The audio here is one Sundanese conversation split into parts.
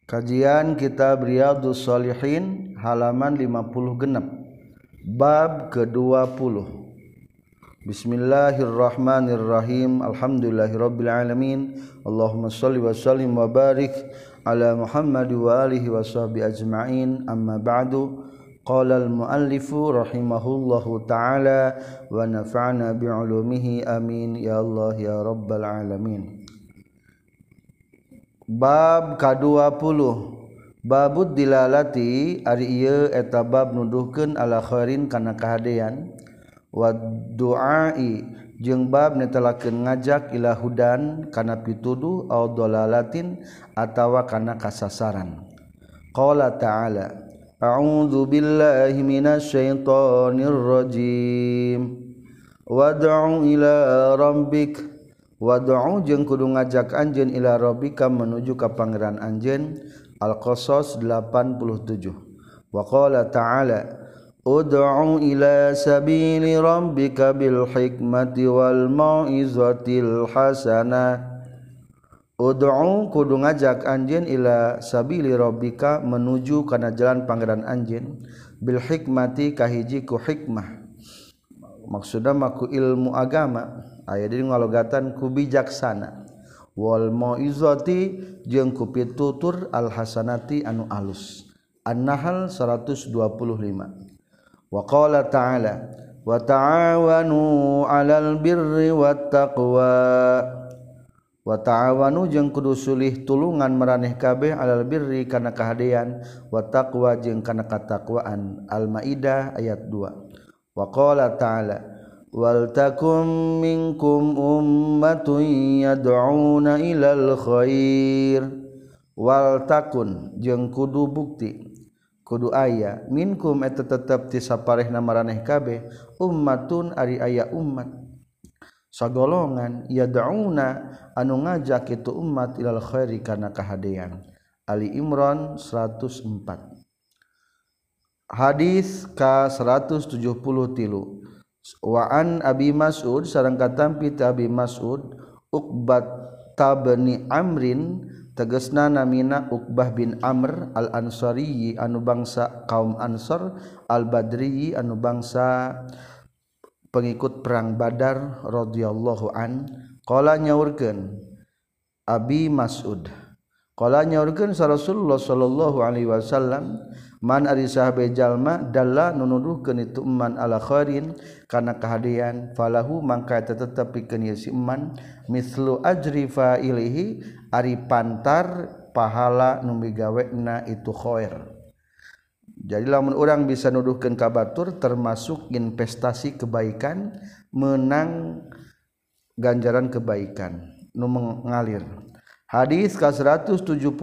Kajian Kitab Riyadhus Shalihin halaman 50 genep. Bab ke-20. Bismillahirrahmanirrahim. Alhamdulillahirabbil alamin. Allahumma shalli wa sallim wa barik ala Muhammad wa alihi washabbi ajma'in. Amma ba'du. Qala al-muallifu rahimahullahu ta'ala wa nafa'na bi'ulumihi amin ya Allah ya rabbal alamin. Bab ka-20 babud dilalati ari ieu eta bab nuduhkeun ala khairin kana kahadean wa du'ai jeung bab netelakeun ngajak ila hudan kana pituduh au dolalatin atawa kana kasasaran. Qala ta'ala a'udzu billahi minasyaitonir rajim wad'u ila rabbik wad'u jeung kudu ngajak anjeun ila rabbika menuju ka pangeran anjeun. Al-Qasas 87. Wa qala ta'ala ud'u ila sabili rabbika bil hikmati wal mau'izatil hasanah. Ud'u kudu ngajak anjeun ila sabili rabbika menuju kana jalan pangeran anjeun bil hikmati kahiji ku hikmah. Maksudna mah ku ilmu agama. Aya di ngalogatan ku bijaksana wal mauizati jeung ku pitutur al hasanati anu alus. An-Nahl 125. Wa qala ta'ala wa ta'awanu 'alal birri wat taqwa. Wa ta'awanu jeung kudu sulih tulungan maraneh kabeh 'alal birri kana kahadean wa taqwa jeung kana katakwaan. Al-Maidah ayat 2. Wa qala ta'ala wal takum minkum ummatun yad'una ilal khair. Wal takun jeung kudu bukti kudu aya minkum eta tetep ti saparehna maraneh kabeh ummatun ari aya umat sagolongan yad'una anu ngajak itu umat ilal khairi kana kahadean. Ali Imran 104. Hadis ka 173. Wa an Abi Mas'ud sareng katampi ti Abi Mas'ud Uqbah bin Amrin tegasna namina Uqbah bin Amr al-Ansari anu bangsa kaum Ansar al-Badri anu bangsa pengikut perang Badar radhiyallahu an. Qala nyaurkeun Abi Mas'ud qala nyaurkeun sa Rasulullah sallallahu alaihi wasallam man ari sahabe jalma dalla nunuduhkeun itu man ala khairin kana kahadean falahu mangka tetep pikeun ieu si man mislu ajri fa'ilihi ari pantar pahala nu migawena itu khair. Jadi lamun urang bisa nuduhkeun ka batur termasuk investasi kebaikan menang ganjaran kebaikan nu mengalir. Hadis ka 174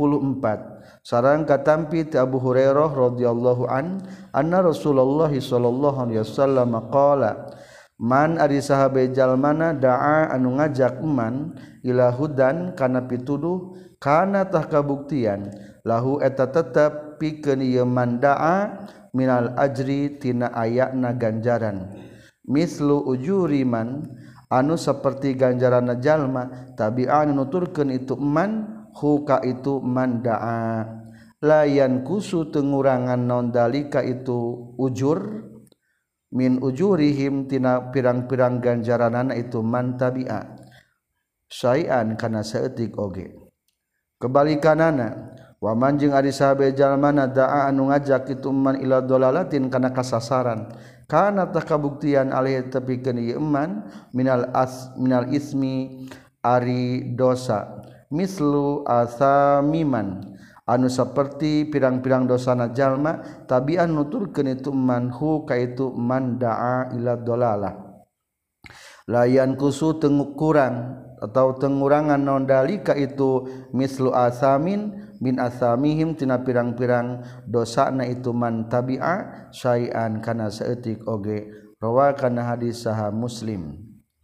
sareng katampi ti Abu Hurairah radhiyallahu an anna Rasulullah sallallahu alaihi wasallam qala man ari sahabe jalmana da'a anu ngajak man ila hudan kana pituduh kana tah kabuktian lahu eta tetep pikeun ieu man da'a minal ajri tina ayana ganjaran mislu ujuri man anu saperti ganjaranna jalma tabi'an nuturkeun itu man huka itu man da'a layan kusu tengurangan naon dalika itu ujur min ujurihim tina pirang-pirang ganjaranana itu man tabi'a syai'an kana saeutik oge. Kebalikanana wa man jeung ari sahabe jalmana da'a anu ngajak itu man ila dolalatin kana kasasaran kana tah kabuktian alih tepikeun ieu man minal ismi ari dosa mislu asamiman anu saperti pirang-pirang dosana jalma tabian nuturkeun itu man hu ka itu man da'a ila dolalah layan kusu tengukuran atau tengurangan naon dalika itu mislu asamin min asamihim tina pirang-pirang dosana itu man tabi'a syai'an kana saeutik oge. Rawakan hadis saha Muslim.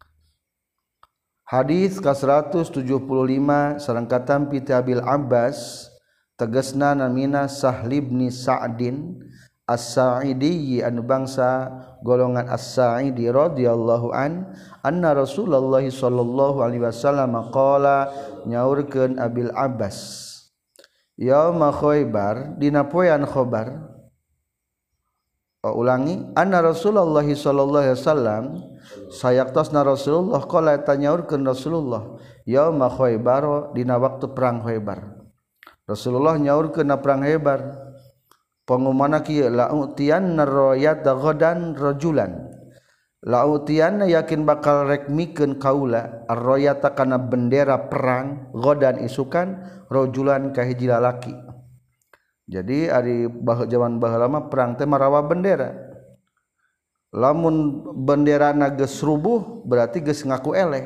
Hadis ka 175 sareng katampi ti Abil Abbas tegasna namina Sahl bin Sa'din As-Sa'idi anu bangsa golongan As-Sa'idi radhiyallahu an anna Rasulullah sallallahu alaihi wasallam qala nyaurkeun Abil Abbas yauma Khaibar dina poean Khaibar. Ulangi anna Rasulullah sallallahu alaihi wasallam sayaktasna Rasulullah qala tanyaurkeun Rasulullah yauma Khaibar dina waktu perang Khaibar. Rasulullah nyaurkeun na perang Khaibar pengumana kieu la utiyanna rayata ghadan rajulan la utiyanna yakin bakal rek mikeun kaula ar-rayata kana bendera perang ghadan isukan rajulan ka hiji lalaki. Jadi ari zaman baheula mah perang teh marawa bendera. Lamun benderana geus rubuh berarti geus ngaku eleh.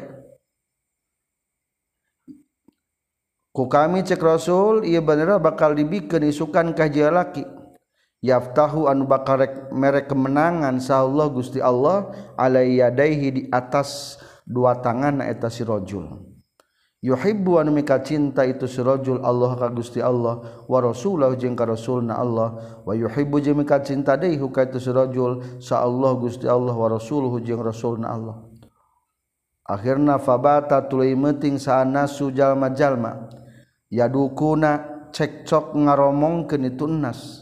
Ku kami cek Rasul ieu bendera bakal dibikeun isukan ka hiji lalaki. Yaftahu anu bakal merek kemenangan sahallah Gusti Allah alai yadaihi di atas dua tangan eta si rajul. Yuhibbu anu mika cinta itu si rajul Allah ka Gusti Allah wa rasulahu jeung ka rasulna Allah wa yuhibbu jeung mika cinta deui ka itu si rajul sa Allah Gusti Allah wa rasuluhu jeung rasulna Allah. Akhirna fabata tuluy meuting saanasu jalma-jalma yadukuna cekcok ngaromongkeun itu nas.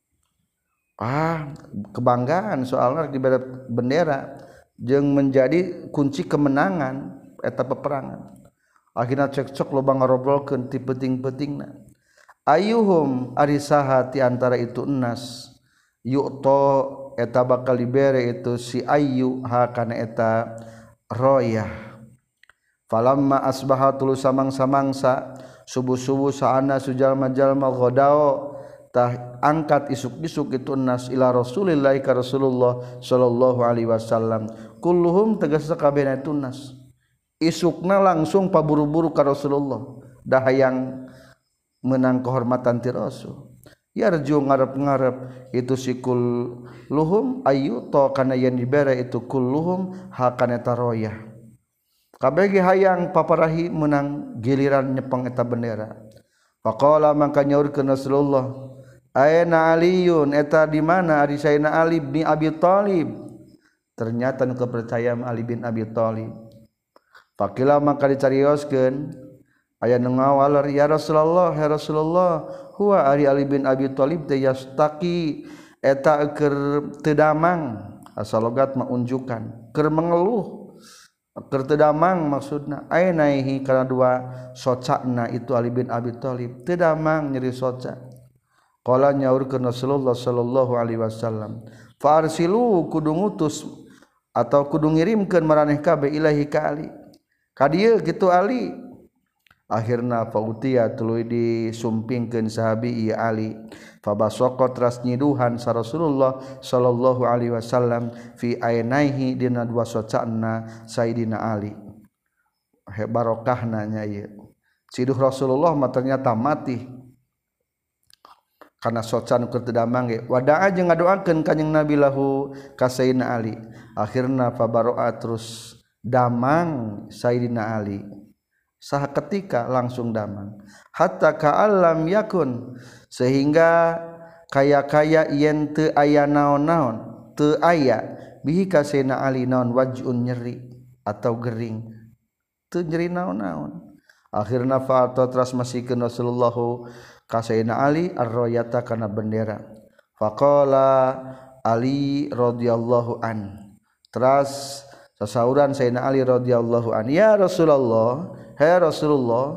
Kebanggaan soalna dibere bendera jeung menjadi kunci kemenangan eta peperangan. Akhirna cekcok loba ngarobrolkeun ti peuting-peutingna. Ayuhum ari saha ti antara itu enas yu'to eta bakal dibere itu si ayu ha kana eta royah. Falamma asbaha tulu samang-samangsa subuh-subuh saana sujalma-jalma godao tah angkat isuk-isuk itu enas ila Rasulillah ka Rasulullah sallallahu alaihi wasallam kulluhum tegasna kabehna itu enas. Isukna langsung paburu-buru ka Rasulullah dah hayang menang kehormatan ti Rasul. Yarju ngarep-ngarep itu si kulluhum ayyuta kana yen dibere itu kulluhum hakana eta royah. Kabeh ge hayang paparahi menang giliran nyepeng eta bendera. Faqala mangka nyaurkeun Rasulullah, "Aina Aliyun eta di mana ari saena Ali bin Abi Thalib?" Ternyata nu kepercayaan Ali bin Abi Thalib. Fakila maka dicarioskeun aya nu ngawaler ya Rasulullah huwa Ali bin Abi Thalib teh yastaqi eta keur teu damang asal logat mah unjukan keur mengeluh keur teu damang maksudna ainaihi kana dua socana itu Ali bin Abi Thalib teu damang nyeri soca. Qala nyaurkeun Rasulullah sallallahu alaihi wasallam farsilu kudu ngutus atau kudu ngirimkeun maraneh kabeh ilahi ka Ali kadieu gitu Ali. Akhirna fautia tuluy disumpingkeun sahabi ieu Ali fabasaqat ras nyiduhan sa Rasulullah sallallahu alaihi wasallam fi ainaihi dina dua socana Sayyidina Ali. Barokahna nya ieu siduh Rasulullah mah ternyata mati karena socan keur teu damang ge wada'a jeung ngadoakeun kanjing Nabi lahu ka Sayyidina Ali. Akhirna fabaro'a terus damang Sayyidina Ali saha ketika langsung damang hatta ka'allam yakun sehingga kaya-kaya yen teu aya naon-naon teu aya bihi ka Sayyidina Ali naon waj'un nyeri atau gering teu nyeri naon-naon. Akhirna fa'ata teras masikeun Rasulullah ka Sayyidina Ali ar-rayata kana bendera. Faqala Ali radhiyallahu an teras sasauran Sayyidina Ali radhiyallahu an ya Rasulullah hai Rasulullah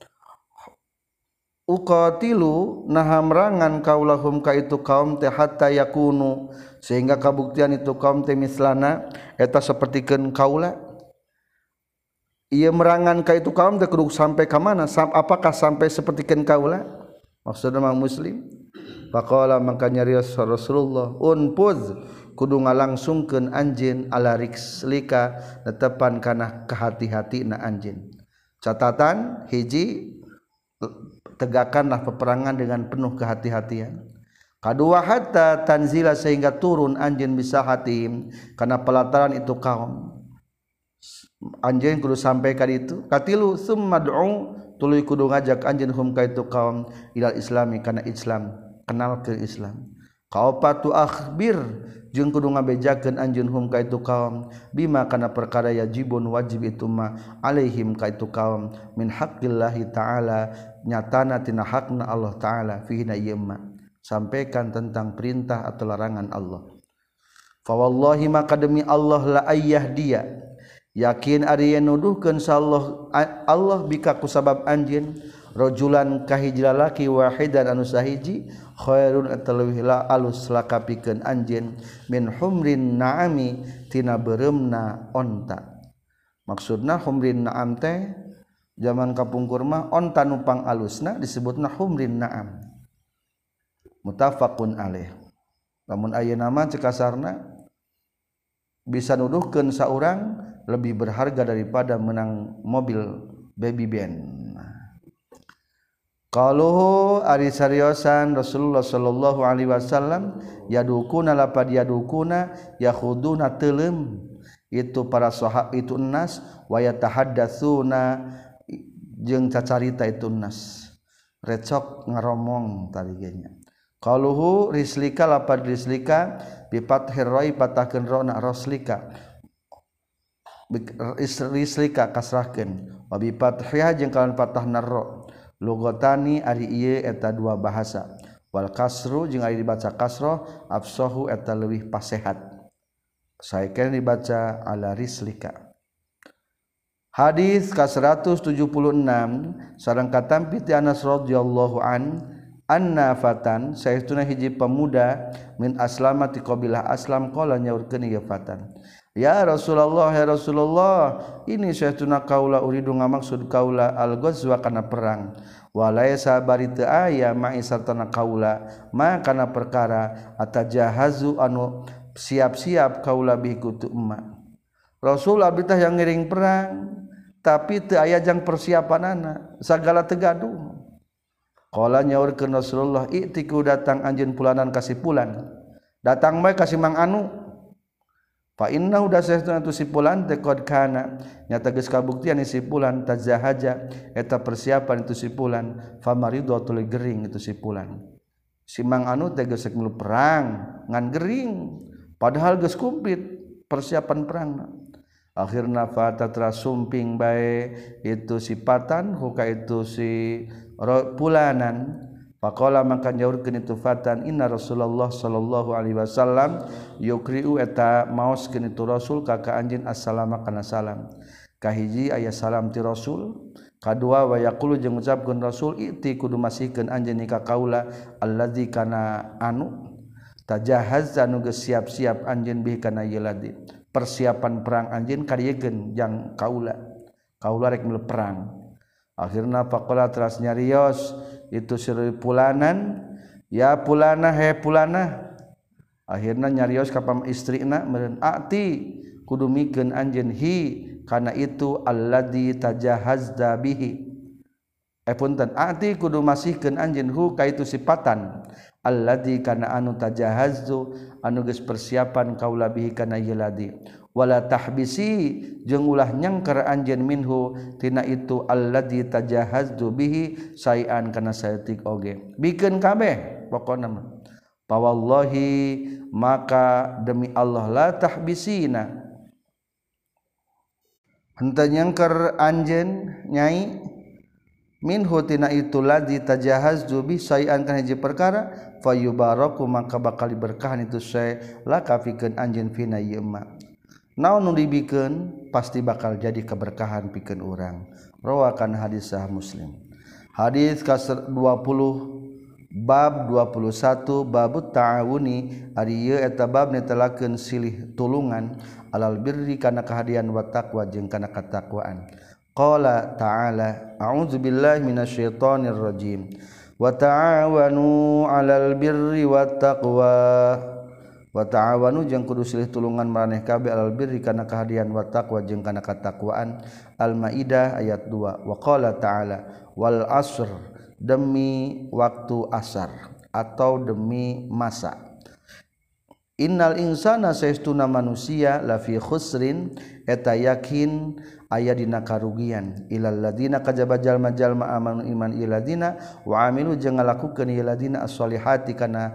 uqatilu nahamrangan kaulahum ka itu kaum teh hatta yakunu sehingga kabuktian itu kaum teh mislana eta sapertikeun kaula. Ieu merangan ka itu kaum teh kudu sampai ka mana apakah sampai sapertikeun kaula maksudna mah muslim. Faqala maka nyarios Rasulullah unpuz kudu ngalangsungkeun anjeun ala rikslika netepan kana kehati-hatina anjeun. Catatan hiji tegakkanlah peperangan dengan penuh kehati-hatian. Kadua hatta tanzila sehingga turun anjeun bisa hatim kana pelataran itu kaum. Anjeun kudu sampai ka ditu. Katilu summa du'u tuluy kudu ngajak anjeun hum ka itu kaum ilal islami kana Islam kenal ke Islam. kaopatu akhbir jeung kudu ngabejakeun anjeun hum ka itu kaum bima kana perkara yajibun wajib itu ma alaihim ka itu kaum min haqqillahi taala nyatana tina hakna Allah taala fihi na ieu ma sampaikan tentang perintah atau larangan Allah. Fa wallahi maka demi Allah la ayyah dia yakin ari nuduhkeun sallallahu Allah bika ku sabab anjeun rajulan kahiji lalaki wahidan anu sahiji khairun ataleuwih la alus lakapikeun anjeun min humrin na'ami tina beuremna onta. Maksudna humrin na'am teh zaman kapungkur mah onta numpang alusna disebutna humrin na'am. Muttafaqun alaih. Lamun ayeuna mah cek kasarna bisa nuduhkeun saurang lebih berharga daripada menang mobil baby band. Qaluhu ari sariosan Rasulullah sallallahu alaihi wasallam yadukuna lapad yadukuna yakhuduna teuleum itu para sahab itu nas wa yatahaddatsuna jeung cacarita itu nas recok ngaromong tadi nya. Qaluhu rislika lapad rislika bi fathir ra'i patahkeun rona roslika rislika kasrahkeun wa bi fathiha jeung kalawan patahna ra lugotani ari ieu eta dua bahasa wal kasru jeung ari dibaca kasroh afsahu eta leuwih pasehat saekeun dibaca ala rislika. Hadis ka 176 sareng katampi ti Anas radhiyallahu anna fatan saestuna hiji pemuda min aslamati qabilah aslam qala nyaurkeun ieu fatan ya Rasulullah ya Rasulullah ini saestuna kaula uridu ngamaksud kaula al-ghazwa kana perang walaisa bari teu aya ma'i sartana kaula ma kana perkara atajahazu anu siap-siap kaula bi kutu emma. Rasul abdi teh yang ngiring perang tapi teu aya jang persiapanana sagala teu gaduh. Qala nyaurkeun Rasulullah i'tiku datang anjeun pulanan kasih pulan datang bae kasih mang anu fa inna udah saestuna tu sipulan teh qad kana nyata geus kabuktian sipulan tazahaja eta persiapan itu sipulan fa maridatul gering itu sipulan si mang anu teh geus milu perang ngan gering padahal geus kumplit persiapan perangna akhirna fa tatrasumping bae itu sipatan huka itu si pulanan faqala maka nyaurkeun itu fatan inna Rasulullah sallallahu alaihi wasallam yukriu eta maoskeun itu Rasul ka anjeun assalamu kana salam kahiji aya salam ti Rasul kadua wa yaqulu jeung ngucapkeun Rasul iti kudu masihkeun anjeun ka kaula allazi kana anu tajahaz anu geus siap-siap anjeun bih kana ieu ladzi persiapan perang anjeun kariegeun jang kaula rek milu perang. Akhirna faqala teras nyarios itu siri pulanan ya pulana he pulana akhirna nyarios ka istrina meureun ati kudu mikeun anjeun hi kana itu alladzi tajahazda bihi punten ati kudu masihkeun anjeun hu ka itu sipatan alladzi kana anu tajahazzu anu geus persiapan kaula bihi kana ieu ladzi wala tahbisi jeung ulah nyangker anjeun minhu tina itu alladzi tajahazdu bihi sayan kana saeutik oge bikeun kabeh pokona mah fa wallahi maka demi Allah la tahbisina henteu nyangker anjeun nyai minhu tina itu ladzi tajahazdu bi sayan kana hiji perkara fayubaraku maka bakal diberkahan itu sae laka pikeun anjeun fina ieu ma naon nu dibikeun pasti bakal jadi keberkahan pikeun urang rawakan hadis sahih Muslim. Hadis ka 20 bab 21 babut ta'awuni ari ieu eta bab netelakeun silih tulungan alal birri kana kahadian wa taqwa jeung kana katakwaan. Qala ta'ala a'udzubillahi minasyaitonir rajim wa ta'awanu 'alal birri wat taqwa wa ta'awanu jeung kudu silih tulungan maraneh kabeh alal birri kana kahadian wa taqwa jeung kana katakwaan. Al-Maidah ayat 2 wa qala ta'ala wal asr demi waktu asar atau demi masa innal insana saestuna manusia lafi khusrin eta yakin aya dina karugian ilal ladina kajaba jalma-jalma amanu iman iladina wa amilu jeung ngalakukeun iladina as-solihati kana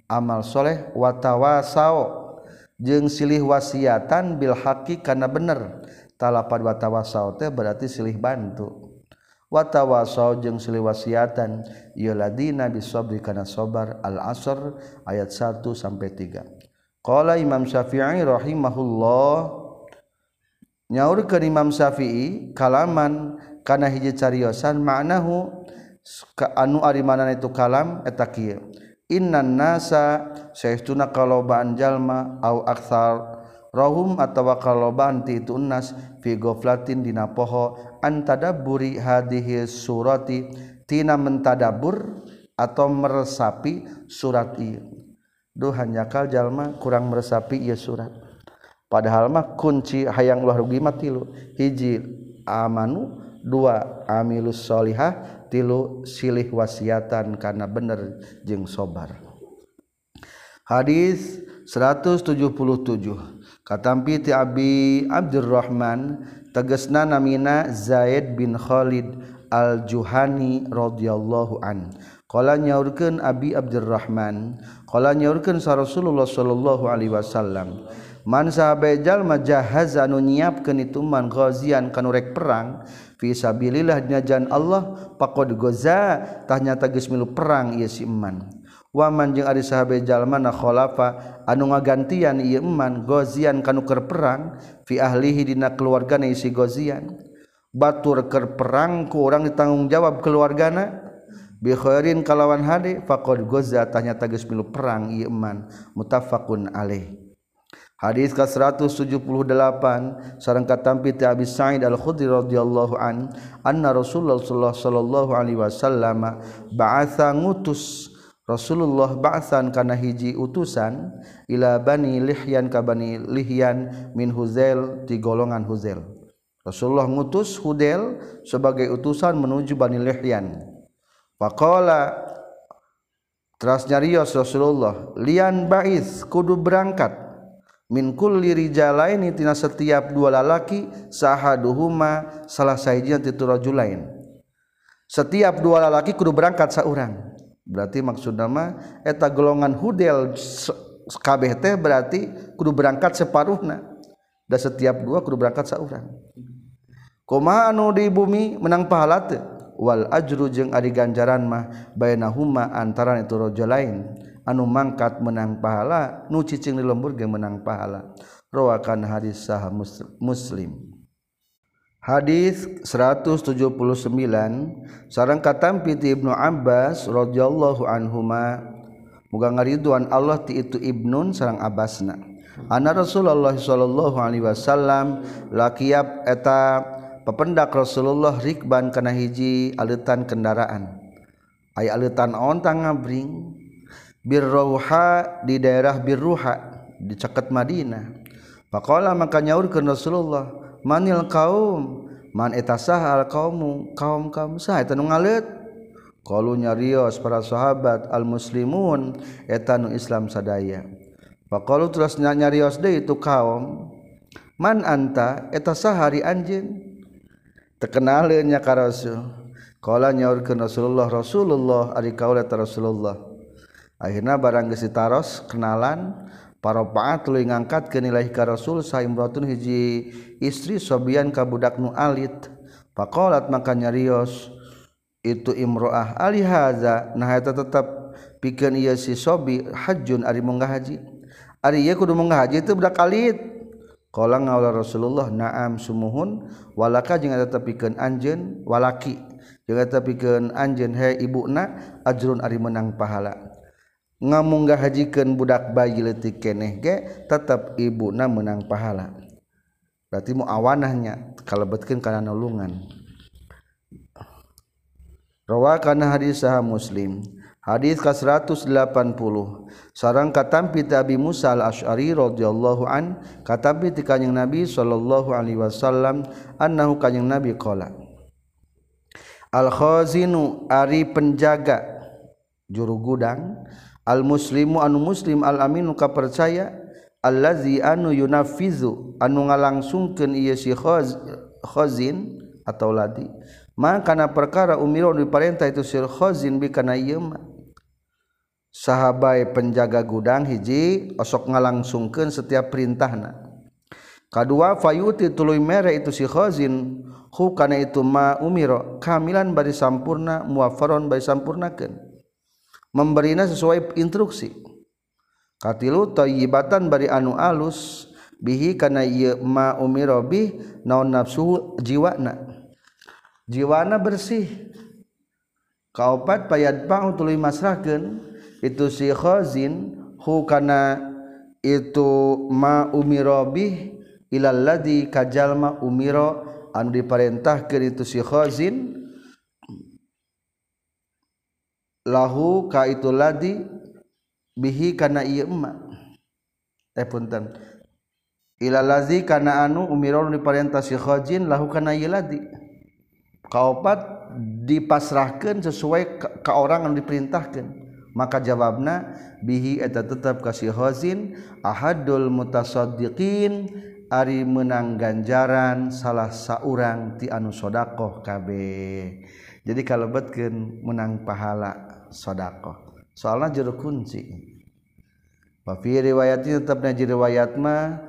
amal soleh watawasau jeung silih wasiatan bil haqi kana bener talapad watawasau teh berarti silih bantu watawasau jeung silih wasiatan ieu ladina bisabri kana sabar al asr ayat 1 sampai 3 qala Imam Syafi'i rahimahullah nyaurkeun Imam Syafi'i kalaman kana hiji cariosan maknahu anu ari manana itu kalam eta kieu innan nasa saestuna kalobaan jalma au aktsar rahum atawa kalobaan ti itu nas fi ghaflatin dina poho antadabburi hadhihi surati tina mentadabbur atau meresapi surat ieu duh hanyakal jalma kurang meresapi ieu surat padahal mah kunci hayang ulah rugi mah tilu hiji amanu dua amilus solihah tilu silih wasiatan kana bener jeung sabar hadis 177 katampi ti Abi Abdurrahman tegasna namina Zaid bin Khalid al-Juhani radhiyallahu an qala nyaurkeun Abi Abdurrahman qala nyaurkeun sa Rasulullah sallallahu alaihi wasallam man sahabe jalma jahaza anu nyiapkeun itu man ghazian kanu rek perang fi sabilillah dina jalan Allah faqad goza tah nyata geus milu perang ieu si eman wa man jeung ari sahabe jalma na khalafa anu ngagantian ieu eman gozian kanu keur perang fi ahlihi dina keluargana si gozian batur keur perang ku urang ditanggung jawab keluargana bi khairin kalawan hade faqad goza tah nyata geus milu perang ieu eman muttafaqun alaih hadis ka 178 sareng katampi ti Abi Sa'id Al-Khudri radhiyallahu an anna Rasulullah sallallahu alaihi wasallam ba'atha ngutus Rasulullah ba'san kana hiji utusan ila Bani Lihyan ka Bani Lihyan min Huzail ti golongan Huzail Rasulullah ngutus Hudail sebagai utusan menuju Bani Lihyan faqala teras nyarios Rasulullah lian ba'is kudu berangkat min kulli rijalaini tina setiap dua lalaki sahaduhuma salah sahijina ti rajulain setiap dua lalaki kudu berangkat saurang berarti maksudna mah eta golongan Hudail kabeh teh berarti kudu berangkat separuhna da setiap dua kudu berangkat saurang kumaha anu di bumi menang pahala teu wal ajru jeung ari ganjaran mah bainahuma antaran itu rajulain anu mangkat menang pahala nu cicing di lembur ge menang pahala rawakan hadis sah Muslim hadis 179 sareng katampi ti Ibnu Abbas radhiyallahu anhuma muga ngaridwan Allah ti itu Ibnun sareng Abbasna anna Rasulullah sallallahu alaihi wasallam laqiyab eta pependak Rasulullah rikban kana hiji aleutan kendaraan aya aleutan ontang ngabring Birruha di daerah Birruha di caket Madinah. Faqala maka nyaurkeun Rasulullah, manil kaum, man eta saha al kaumu, kaum saha eta nu ngaleut? Qalu nyarios para sahabat al muslimun eta nu Islam sadaya. Faqalu terus nyarios deui itu kaum, man anta eta saha ari anjeun? Terkenaleun nya ka Rasul. Qala nyaurkeun Rasulullah ari kaula ta Rasulullah. Akhirna barang geus ditaros kenalan parapaat tuluy ngangkatkeun ilahi ka Rasul saimratun hiji istri sobian ka budak nu alit faqalat maka nyarios itu imroah ali haza nah eta tetep pikeun ieu si sobi hajjun ari munggah haji ari ieu kudu munggah haji teu budak alit qala ngaula Rasulullah na'am sumuhun walaka jeung eta pikeun anjeun walaki jeung eta pikeun anjeun he ibuna ajrun ari menang pahala ngamunggah hajikeun budak bayi leutik keneh ge tetep ibuna menang pahala berarti mu awanahnya kalebetkeun kana nulungan rawakan hadis sah Muslim hadis ka 180 sareng katampi ti Abi Musa al-Asy'ari radhiyallahu an katampi ti kanjing Nabi sallallahu alaihi wasallam annahu kanjing Nabi qala al khazinu ari penjaga juru gudang al muslimu anu muslim al aminu ka percaya allazi anu yunafizu anu ngalangsungkeun ieu si khazin atau ladi maka kana perkara umiru diparentah itu si khazin bi kana ieu mah sahabat penjaga gudang hiji osok ngalangsungkeun setiap perintahna. Kadua fayuti tuluy mere itu si khazin hu kana itu ma umiro kamilan bari sampurna muwaffaron bari sampurnakeun memberina sesuai instruksi. Katilu thayyibatan bari anu alus bihi kana ieu ma umiro bih naon nafsu jiwana bersih. Kaopat payadba'u tuluy masrahkeun itu si khazin hu kana itu ma umiro bih ilal ladzi kajalma umiro anu diparentahkeun itu si khazin lahu ka itu ladzi bihi kana ieu emma punten ilal ladzi kana anu umiro diparentah si khazin lahu kana ieu ladzi kaopat dipasrahkeun sesuai ka orang anu diperintahkeun maka jawabna bihi eta tetep ka si khazin ahadul mutasaddiqin ari menang ganjaran salah saurang ti anu sedekah kabeh. Jadi kalebetkeun menang pahala sedekah. Soalna jero kunci. Wa fi riwayatin tetepna di riwayat mah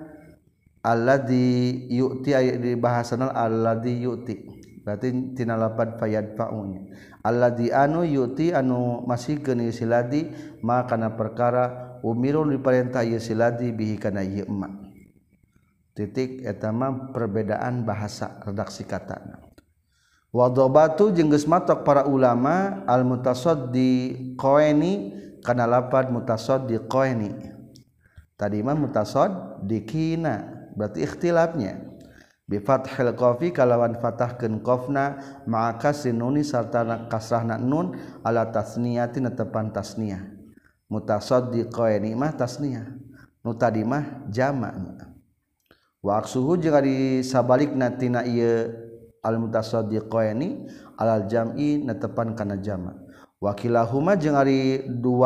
alladzi yu'ti di bahasana alladzi yu'ti. Berarti tina lapad fayadfa'unya. Alladzi anu yu'ti anu masihkeun ieu siladi maka kana perkara umirun diparentah ieu siladi bihi kana ieu emma. Titik etama perbedaan bahasa redaksi katana. Wadobatu jeung geus matok para ulama al mutasaddiqaini kana lapad mutasaddiqaini. Tadi mah mutasaddiqina berarti ikhtilafnya. Bi fathil qafi kalawan fathahkeun qafna ma'a kasrin nun sarta kasrahna nun ala tasniyati netepan tasniyah. Mutasaddiqaini mah tasniyah. Nu tadi mah jamak. Wa aksuhu jeung ari sabalikna tina ieu al mutasaddiqaini alal jam'i netepan kana jamak. Wa kilahuma jeung ari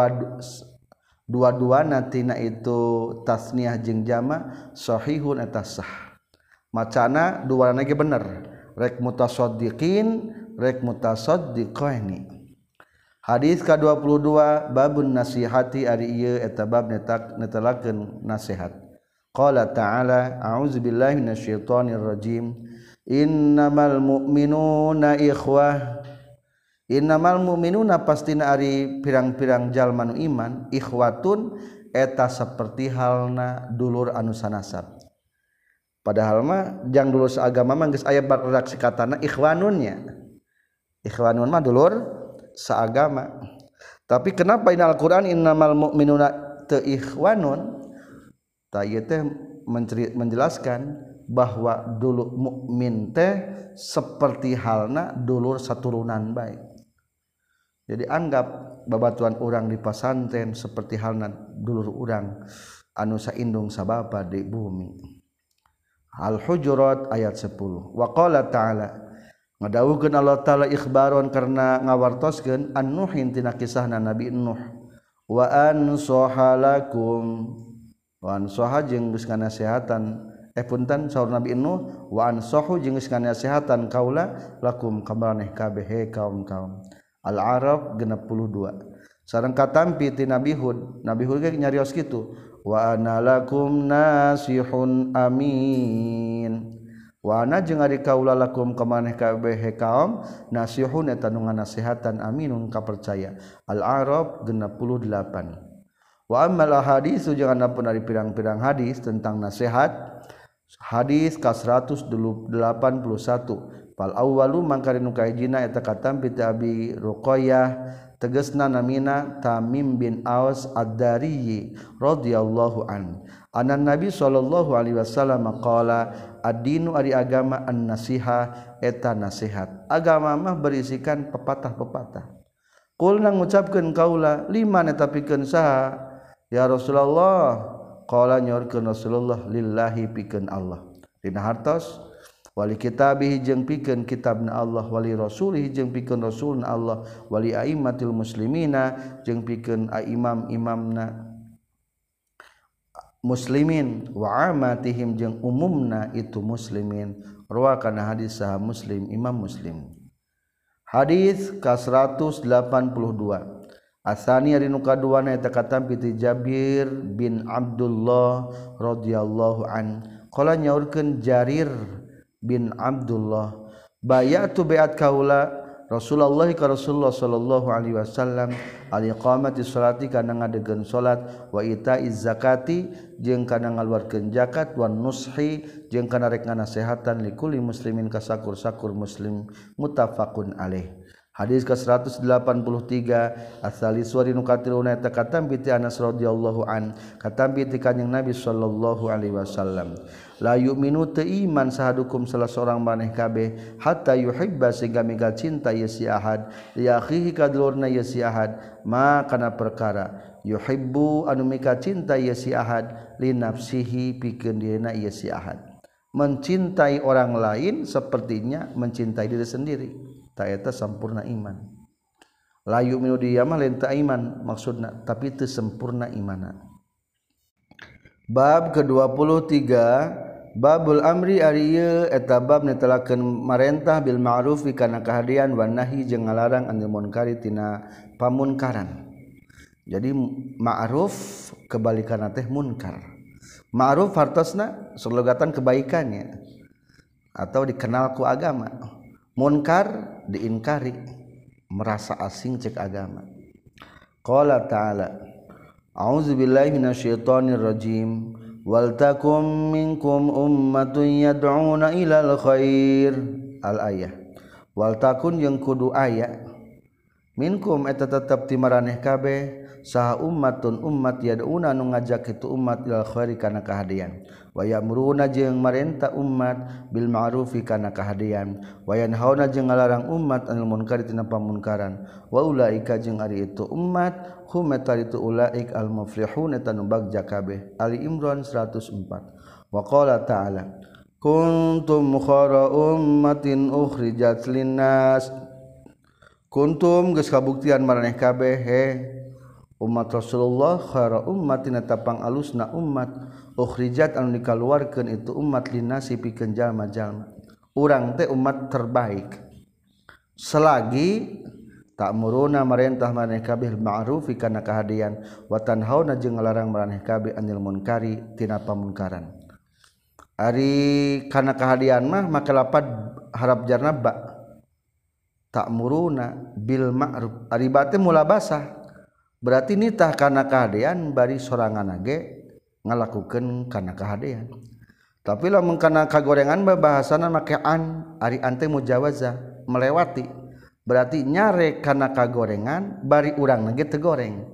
dua-duana tina itu tasniyah jeung jamak sahihun eta sah. Macana duana ge bener rek mutasaddiqin rek mutasaddiqaini. Hadis ka-22 babun nasihati ari ieu eta bab netelakeun nasihat. Qala ta'ala a'udzubillahi minasyaitonir rajim innamal mu'minuna ikhwah innamal mu'minuna pastina ari pirang-pirang jalma nu iman ikhwatun eta saperti halna dulur anu sanasab padahal mah jang dulur saagama mah geus aya redaksi katana ikhwanunnya ikhwanun mah dulur saagama tapi kenapa ini Al-Qur'an innamal mu'minuna teu ikhwanun tayeu teh menjelaskan bahwa dulu mukmin teh seperti halna dulur saturunan baik. Jadi anggap babatuan urang di pasantren seperti halna dulur urang anu saindung sabapa di bumi. Al-Hujurat ayat 10. Wa qala ta'ala ngadawuhkeun Allah taala ikhbaron karena ngawartoskeun an-nuhin tina kisahna Nabi Nuh wa ansahalakum wan soha jeung geus nganasehatan punten saur Nabi Nuh wa ansahu jeung geus nganasehatan kaula lakum kamaneh kabeh he kaum-kaum Al-Araf 62 sareng katampi ti Nabi Hud ge nyarios kitu wa ana lakum nasihun amin wa ana jeung ari kaula lakum kamaneh kabeh he kaum nasihun eta nu nganasehatan aminun kapercaya Al-Araf 68 wa ammal hadis jeung adapun ari pirang-pirang hadis tentang nasihat hadis ka 181 fal awwalu mangkari nu kahijina eta katampi ti Abi Ruqayyah tegasna namina Tamim bin Aus Ad-Dari radhiyallahu an anan Nabi sallallahu alaihi wasallam qala ad-dinu ari agama an-nasiha eta nasihat agama mah berisikan pepatah-pepatah qulna ngucapkeun kaula liman eta pikeun saha ya Rasulullah qala nyorkeun Rasulullah lillahi pikeun Allah dina hartos wali kitabihi jeung pikeun kitabna Allah wali rasulihi jeung pikeun rasulna Allah wali aimmatil muslimina jeung pikeun imam-imamna muslimin wa amatihim jeung umumna itu muslimin rawakan hadis sahih Muslim Imam Muslim hadis ka 182 Asani ari nu kaduana eta katampi ti Jabir bin Abdullah radhiyallahu an qala nyaurkeun Jarir bin Abdullah bayatu baiat kaula Rasulullah ka Rasulullah sallallahu alaihi wasallam al iqamati sholati kana ngadegeun salat wa itaiz zakati jeung kana ngaluarkeun zakat wan nushi jeung kana rek nganasehatan likulli muslimin ka sakur-sakur muslim muttafaqun alaih. Hadis ke 183 asali suari nu katiluna eta katambi ti Anas radhiyallahu an katambi ti kanjing Nabi sallallahu alaihi wasallam la yu'minu teu iman sahadukum salah seorang maneh kabeh hatta yuhibba sehingga mika cinta ieu si ahad li akhihi kadulurna ieu si ahad ma kana perkara yuhibbu anu mika cinta ieu si ahad li nafsihi pikeun dieuna ieu si ahad. Mencintai orang lain sepertinya mencintai diri sendiri. Ta eta sampurna iman. La yu'minu dia mah lain teu iman maksudna tapi teu sempurna imanna. Bab ke-23 babul amri ari ieu eta bab netelakeun marentah bil ma'ruf kana kahadian wan nahi jeung ngalarang anil munkari tina pamunkaran. Jadi ma'ruf kebalikanna teh munkar. Ma'ruf hartosna surlogatan kebaikannya atau dikenal ku agama. Munkar diingkari merasa asing cek agama. Qala ta'ala a'udzubillahi minasyaitonir rajim wal takum minkum ummatun yad'una ilal khair al ayah wal takun yang kudu aya minkum eta tetep ti maraneh kabeh saha ummatun ummat yad'una nu ngajak itu umat ilal khairi kana kahadian wa ya'muruna jeung marentah umat bil ma'rufi kana kahadian wa yanhauna jeung ngalarang umat anil munkari tina pamunkaran wa ulaika jeung ari itu umat hum itu ulaik al muflihun eta nu bagja kabeh. Ali Imran 104. Wa qala ta'ala kuntum khara ummatin ukhrijat linnas kuntum geus kabuktian maraneh kabeh he umat Rasulullah khara ummatin eta pangalusna umat ukhrijat anu dikaluarkeun itu umat linasi pikeun jalma-jalma. Urang teh umat terbaik. Selagi ta'muruna marentah maraneh kabeh ma'ruf kana kahadian wa tanhauna jeung ngalarang maraneh kabeh anil munkari tina pamunkaran. Ari kana kahadian mah make lapad harap jarna ba. Ta'muruna bil ma'ruf. Ari ba teh mula basah. Berarti nitah kana kahadian bari sorangan ge ngalakukeun kana kahadian. Tapi lamun kana kagorengan bahasana make an, ari ante mujawazah melewati. Berarti nyare kana kagorengan bari urang ge teu goreng.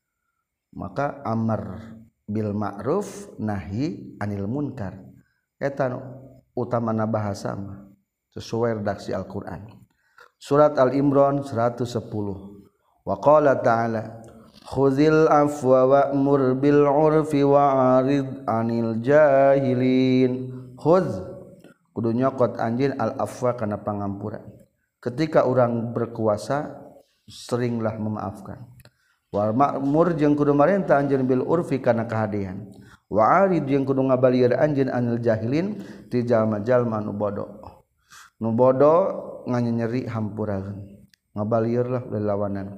Maka amar bil ma'ruf nahi anil munkar. Eta utamana bahasa mah sesuai redaksi Al-Qur'an. Surat Al-Imran 110. Wa qala ta'ala khudhil afwa wa'mur bil 'urfi wa'rid 'anil jahilin. Khudz kudu nyokot anjeun al afwa kana pangampuran. Ketika orang berkuasa seringlah memaafkan. Wa ma'mur jeung kudu marentah anjeun bil 'urfi kana kahadian. Wa'rid jeung kudu ngabalieur anjeun anil jahilin ti jalma-jalma nu bodoh. Nu bodoh nganyeri hampurakeun. Ngabalieur lelawanan.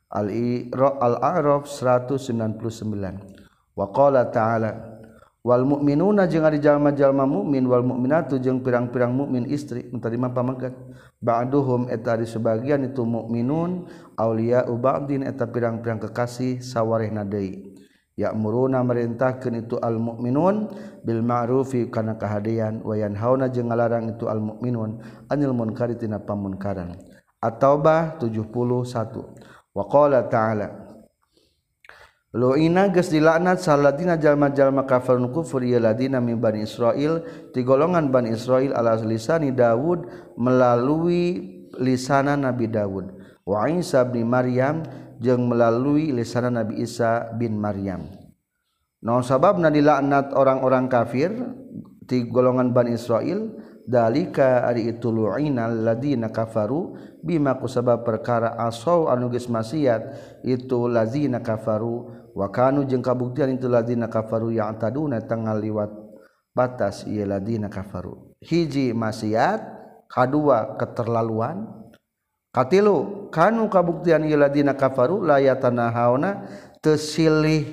Al-A'raf 199. Wa qala ta'ala wal mu'minuna jeung ari jalma-jalma mukmin wal mukminatu jeung pirang-pirang mukmin istri menerima pamagat ba'duhum eta di sebagian itu mukminun auliya'u ba'din eta pirang-pirang kekasih sawarehna deui ya'muruna merintahkeun itu al mukminun bil ma'rufi kana kahadian wa yanhauna jeung ngalarang itu al mukminun anil munkari tina pamunkaran. At-Taubah 71. Wa qala ta'ala lu'ina geus dilaknat saladina jalma-jalma kafarun kufur ya ladina min Bani Israil ti golongan Bani Israil ala lisani Daud melalui lisana Nabi Daud wa Isa bin Maryam jeung melalui lisana Nabi Isa bin Maryam. Naon sababna dilaknat orang-orang kafir ti golongan Bani Israil dalika ari itu lu'inal ladina kafaru bima kusabab perkara asaw anu geus maksiat itu lazina kafaru wa kanu jeung kabuktian itu ladina kafaru yang taduna tanggal liwat batas ieu ladina kafaru. Hiji maksiat, kadua keterlaluan, Katilu kanu kabuktian ieu ladina kafaru la yatanahawna teu silih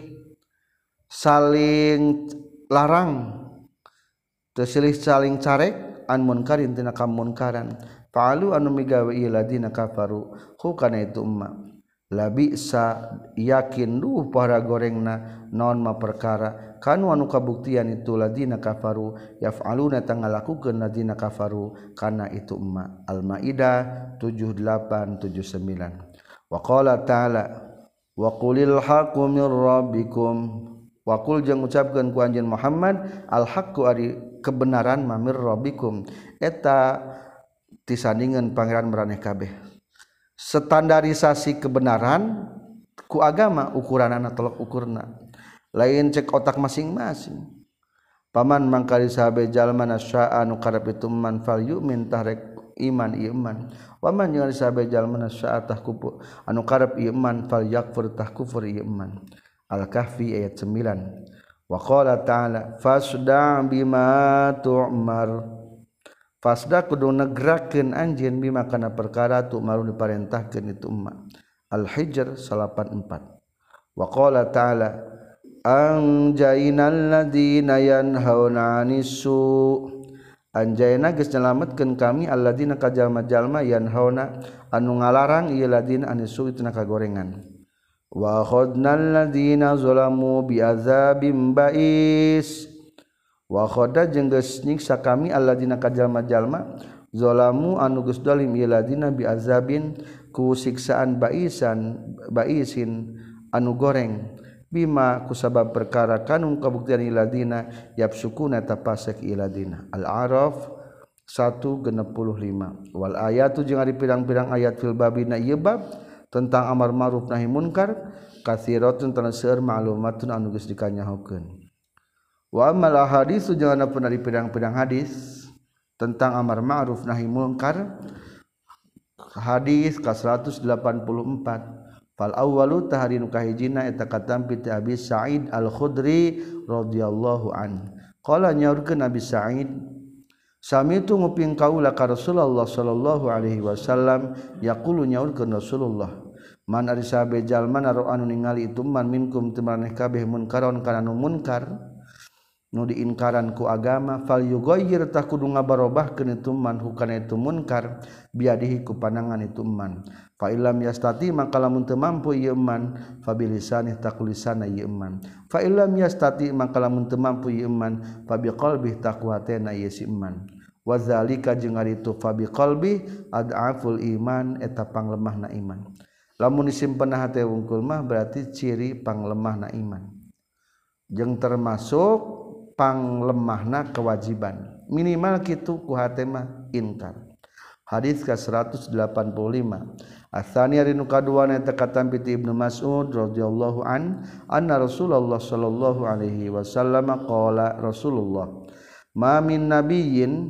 saling larang teu silih saling carek an munkarin tina kamunkaran fa'alu anu migawe ieu ladina kafaru hu kana itu umma labi sa yakin duh para gorengna naon ma perkara kanu anu kabuktian itu ladina kafaru yaf'aluna tangalakukeun ladina kafaru kana itu umma Al-Maidah 7879 wa qala ta'ala wa qulil haqqu mir rabbikum wa qul jeung ucapkeun ku anjeun Muhammad al haqqu ari kebenaran mamir rabbikum eta tisandingan pangeran maraneh kabeh standarisasi kebenaran ku agama ukuranana tolok ukurna lain cek otak masing-masing paman mangkali sahabe jalma nasya'a nu karep itu man fal yu'min tahrek iman iman waman jeung sahabe jalma nasya'a tah kupu anu karep iman fal yakfur tah kufur iman Al-Kahfi ayat 9 wa qala ta'ala fasda' bima tu'mar fasda kudu negrakeun anjeun bima kana perkara tu malu diparentahkeun itu umma Al-Hijr 84 wa qala ta'ala anjaynal ladina yanhauna 'anis-su anjayna geus nyelametkeun kami alladzina kajalma-jalma yanhauna anu ngalarang ieu ladina 'anis-su tina kagorengan wa khadnal ladina zalamu bi'adzabim ba'is wa khada jeung geus nyiksa kami alladzina kajalma-jalma zalamu anu geus zalim ieu ladina bi'azabin ku siksaan baisin anu goreng bima kusabab perkara kanun kabuktian ieu ladina yapsukuna tapasek ieu ladina Al-A'raf 165 wal ayatu jeung ari pirang-pirang ayat fil babina ieu bab tentang amar ma'ruf nahi munkar katsiratun tan seueur ma'lumatun anu geus dikanyahokeun wa amal hadis jeung anapun dari pirang-pirang hadis tentang amar ma'ruf nahi munkar hadis ka 184 fal awwalu tahari nu kahijina eta katampi ti Abi Sa'id Al-Khudri radhiyallahu an qala nyaurkeun Abi Sa'id samitu nguping kaula ka Rasulullah sallallahu alaihi wasallam yaqulu nyaurkeun Rasulullah man ari sahabe jalma naro anu ningali itu man minkum teu maneh kabeh munkaron kana nu munkar nu diinkaran ku agama fal yughayyir tah kudu ngabarobahkeun itu man hukana itu munkar biadihi ku panangan itu man fa illam yastati maka lamun teu mampu ieu man fa bilisanih takulisana ieu man fa illam yastati maka lamun teu mampu ieu man fa biqalbi taqwatena ieu si man wa zalika jeung ari itu fa biqalbi ad'aful iman eta panglemahna iman lamun disimpenna hate wungkul mah berarti ciri panglemahna iman jeung termasuk panglemahna kewajiban minimal kitu ku hate mah inkar hadis ka 185 asani ari nu kaduana eta katampi ti Ibnu Mas'ud radhiyallahu an anna Rasulullah sallallahu alaihi wasallam qala Rasulullah ma min nabiyyin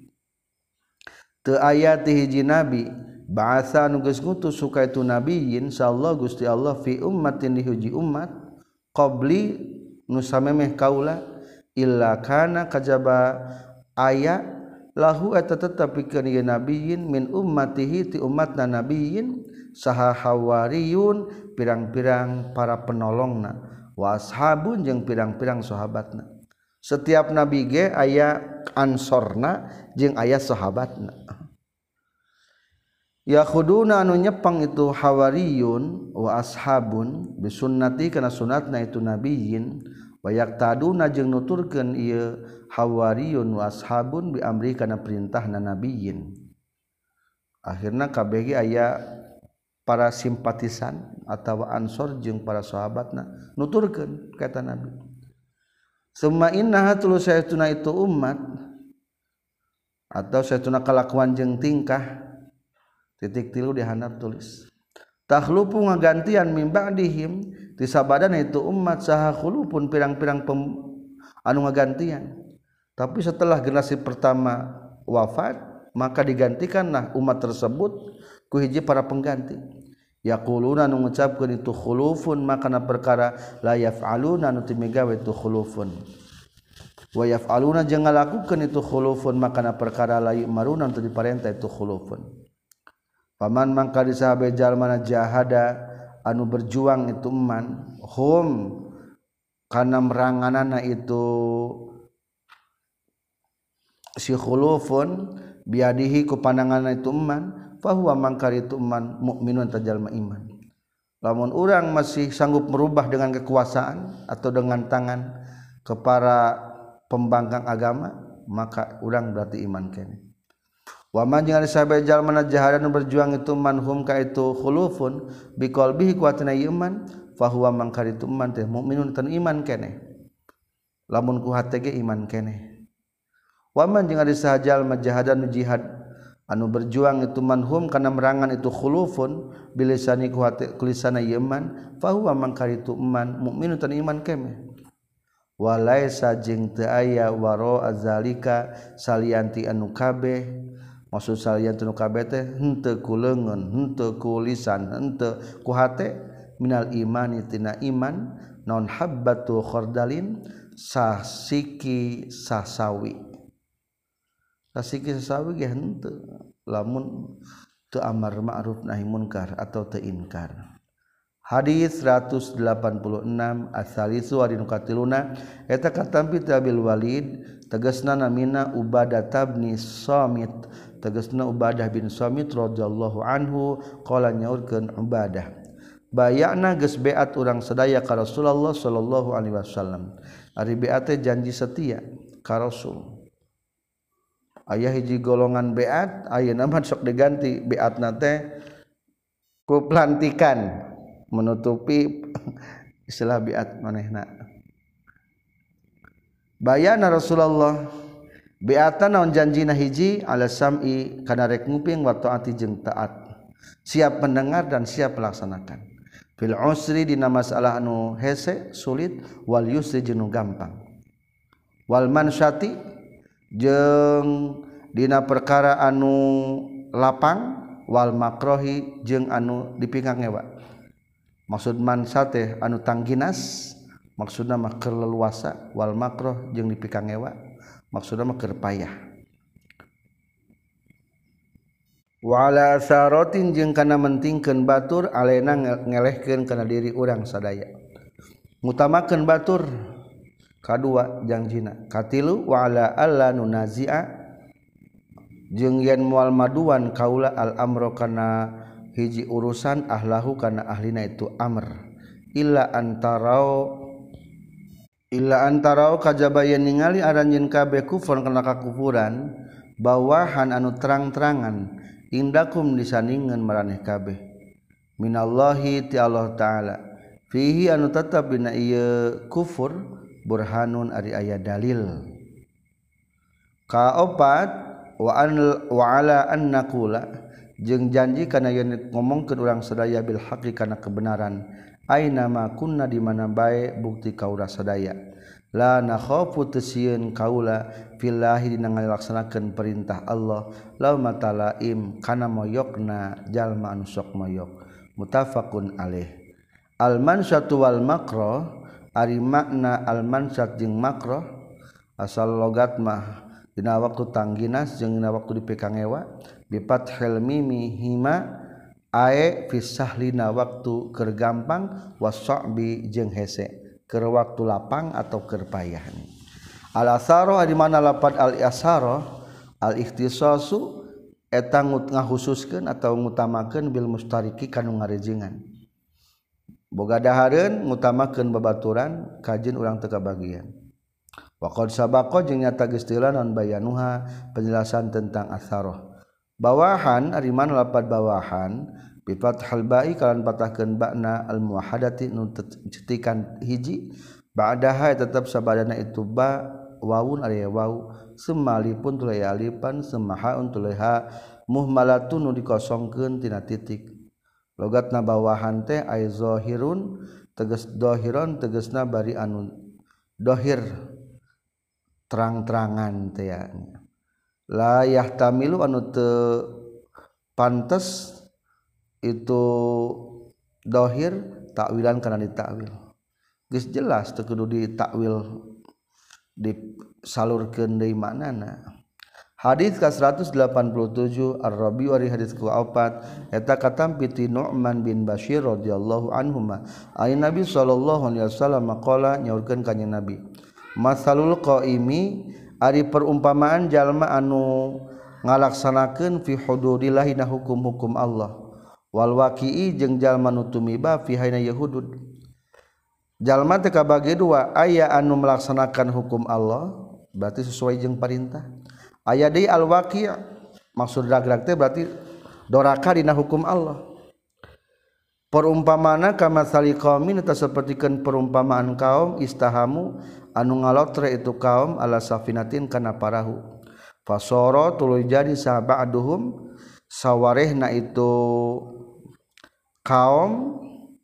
teu aya ti hiji nabi ba'atsa nu geus ngutus suka itu nabiyyin sallallahu Gusti Allah fi ummatin di hiji umat qabli nu samemeh kaula illa kana kajaba aya lahu eta tetep pikeun ieu nabiyyin min ummatihi ti umatna nabiyyin saha hawariyun pirang-pirang para penolongna wa ashabun jeung pirang-pirang sahabatna setiap nabi ge aya ansorna jeung aya sahabatna yakhuduna anu nyepang itu hawariyun wa ashabun bisunnati kana sunatna itu nabiyyin wa yaqtaduna jeung nuturkeun ieu hawariyun wa ashabun bi amri kana perintahna nabiyyin akhirna kabeh ge aya para simpatisan atawa ansor jeung para sahabatna nuturkeun kata nabi summa innaha tulu saytuna itu umat atau saytuna kalakuan jeung tingkah titik tilu di handap tulis takhlupu ngagantian min ba'dihim ti sabadana itu umat saha khulupun pirang-pirang anu ngagantian tapi setelah generasi pertama wafat maka digantikanlah umat tersebut ku hiji para pengganti yaquluna anu ngucapkeun itu khulufun makana perkara la yaf'aluna anu teu migawe itu khulufun wa yaf'aluna jeung ngalakukeun itu khulufun makana perkara la yu'maruna anu diparentah itu khulufun paman mangka disahabe jalmana jahada anu berjuang itu man hum kana meranganana itu si khulufun biadihi ku pandanganna itu man fahuwa mangka itu man mukminun tajalma iman. Lamun urang masih sanggup merubah dengan kekuasaan atau dengan tangan kepada pembangkang agama maka urang berarti iman kene. Wa man jeung ari sahabat jalmana jahadan berjuang itu manhum ka itu khulufun biqalbihi kuatna iman fahuwa mangka itu man teh mukminun tan iman kene. Lamun ku hate ge iman kene. Wa man jeung ari sahabat jalma jahadan jihad anu berjuang itu manhum kana merangan itu khulufun bilisani ku hate kulisana iman fahuwa mangka itu man mukminun tan iman kene. Walaisa jeung teu aya waro azalika salianti anu kabeh maksud salianti anu kabeh teh henteu ku leungeun henteu ku lisan henteu ku hate minal imani tina iman naon habbatu khardalin sasiki sasawi ge henteu lamun teu amar ma'ruf nahi munkar atau teu inkar. Hadis 186 asalisu adinu katiluna eta katampi Abil Walid tegasna namina Ubadah bin Samit tegasna Ubadah bin Samit radhiyallahu anhu qala nyaurkeun Ubadah bayana geus beat urang sadaya ka Rasulullah sallallahu alaihi wasallam ari beat teh janji setia ka Rasul aya hiji golongan beat ayeuna mah sok diganti beatna teh ku pelantikan menutupi istilah biat manehna bayana Rasulullah biatan naon janjina hiji ala sam'i kana rek nguping wa taati jeung taat siap mendengar dan siap melaksanakan fil usri dina masalah anu hese sulit wal yusri jeung gampang wal mansyati jeung dina perkara anu lapang wal makrohi jeung anu dipinggang ngewa. Maksud mansa teh anu tangginas maksudna mah keur leluasa wal makruh jeung dipikang ewa maksudna mah keur payah wa ala saratin jeung kana mentingkeun batur alena ngelehkeun kana diri urang sadaya ngutamakeun batur kadua janjina katilu wa ala alla nunazi'a jeung yen moal maduan kaula al amro kana hiji urusan ahlahu kana ahlina itu amr illa antarau kajabayan ningali aranjeun kabeh kufur kana kakufuran bawahan anu terang-terangan indakum disandingeun maraneh kabeh minallahi ti Allah taala fihi anu tetep dina ieu kufur burhanun ari aya dalil kaopat wa ala an naqula jeung janji kana yen ngomongkeun urang sadaya bil haqqi kana kebenaran aina ma kunna di mana bae bukti kaula sadaya la nakhafu tasieun kaula fillahi dina ngalaksanakeun perintah Allah la matalaim kana moyokna jalma anu sok moyok muttafaqun alaih al mansyatu wal makruh ari makna al mansyat jeung makruh asal logat mah dina waktu tangginas jeung dina waktu dipekang ewa bifathil mimi hima ae fi sahlina waktu keur gampang wasabi jeung hese keur waktu lapang atau keur payah al asaro di mana lapad al asaro al ikhtisasu eta ngahususkeun atau ngutamakeun bil mustariki kanu ngarejengan boga dahareun ngutamakeun babaturan kajeun urang teu kabagian wa qad sabaqa jeung nyata geus teu non bayanuha penjelasan tentang asaro bawahan ari mana lapad bawahan bi fathal ba'i kalan patahkeun ba'na al muwahhadati nu cetikan hiji ba'daha tetep sabadana itu ba wawun ari waw semalipun tulai alifan semahaun tulai ha muhmalatun nu dikosongkeun tina titik logatna bawahan teh ay zahirun tegas dohiron tegasna bari anu dohir terang-terangan teh ya la yahtamilu anu teu pantes itu dohir takwilan kana ditakwil geus jelas teu kudu ditakwil disalurkeun deui maknana Hadis ka 187 Ar-Rabi wari hadis ku-4 eta katampi ti Nu'man bin Bashir radhiyallahu anhuma ay Nabi sallallahu alaihi wasallam maqala nyaurkeun ka Nabi masalul qaimi ari perumpamaan jalma anu ngalaksanakeun fi hududillah dina hukum-hukum Allah wal waqi'i jeung jalma nu tumiba fi haina hudud jalma teh kabage dua aya anu melaksanakan hukum Allah berarti sesuai jeung perintah aya deui al-waqi' maksud rag-rag teh berarti doraka dina hukum Allah. Perumpamana kama sali qaumin eta sapertikeun perumpamaan kaum istahamu anu ngalotre itu kaum ala safinatin kana parahu. Fasara tuluy jadi saba'duhum sawarehna itu kaum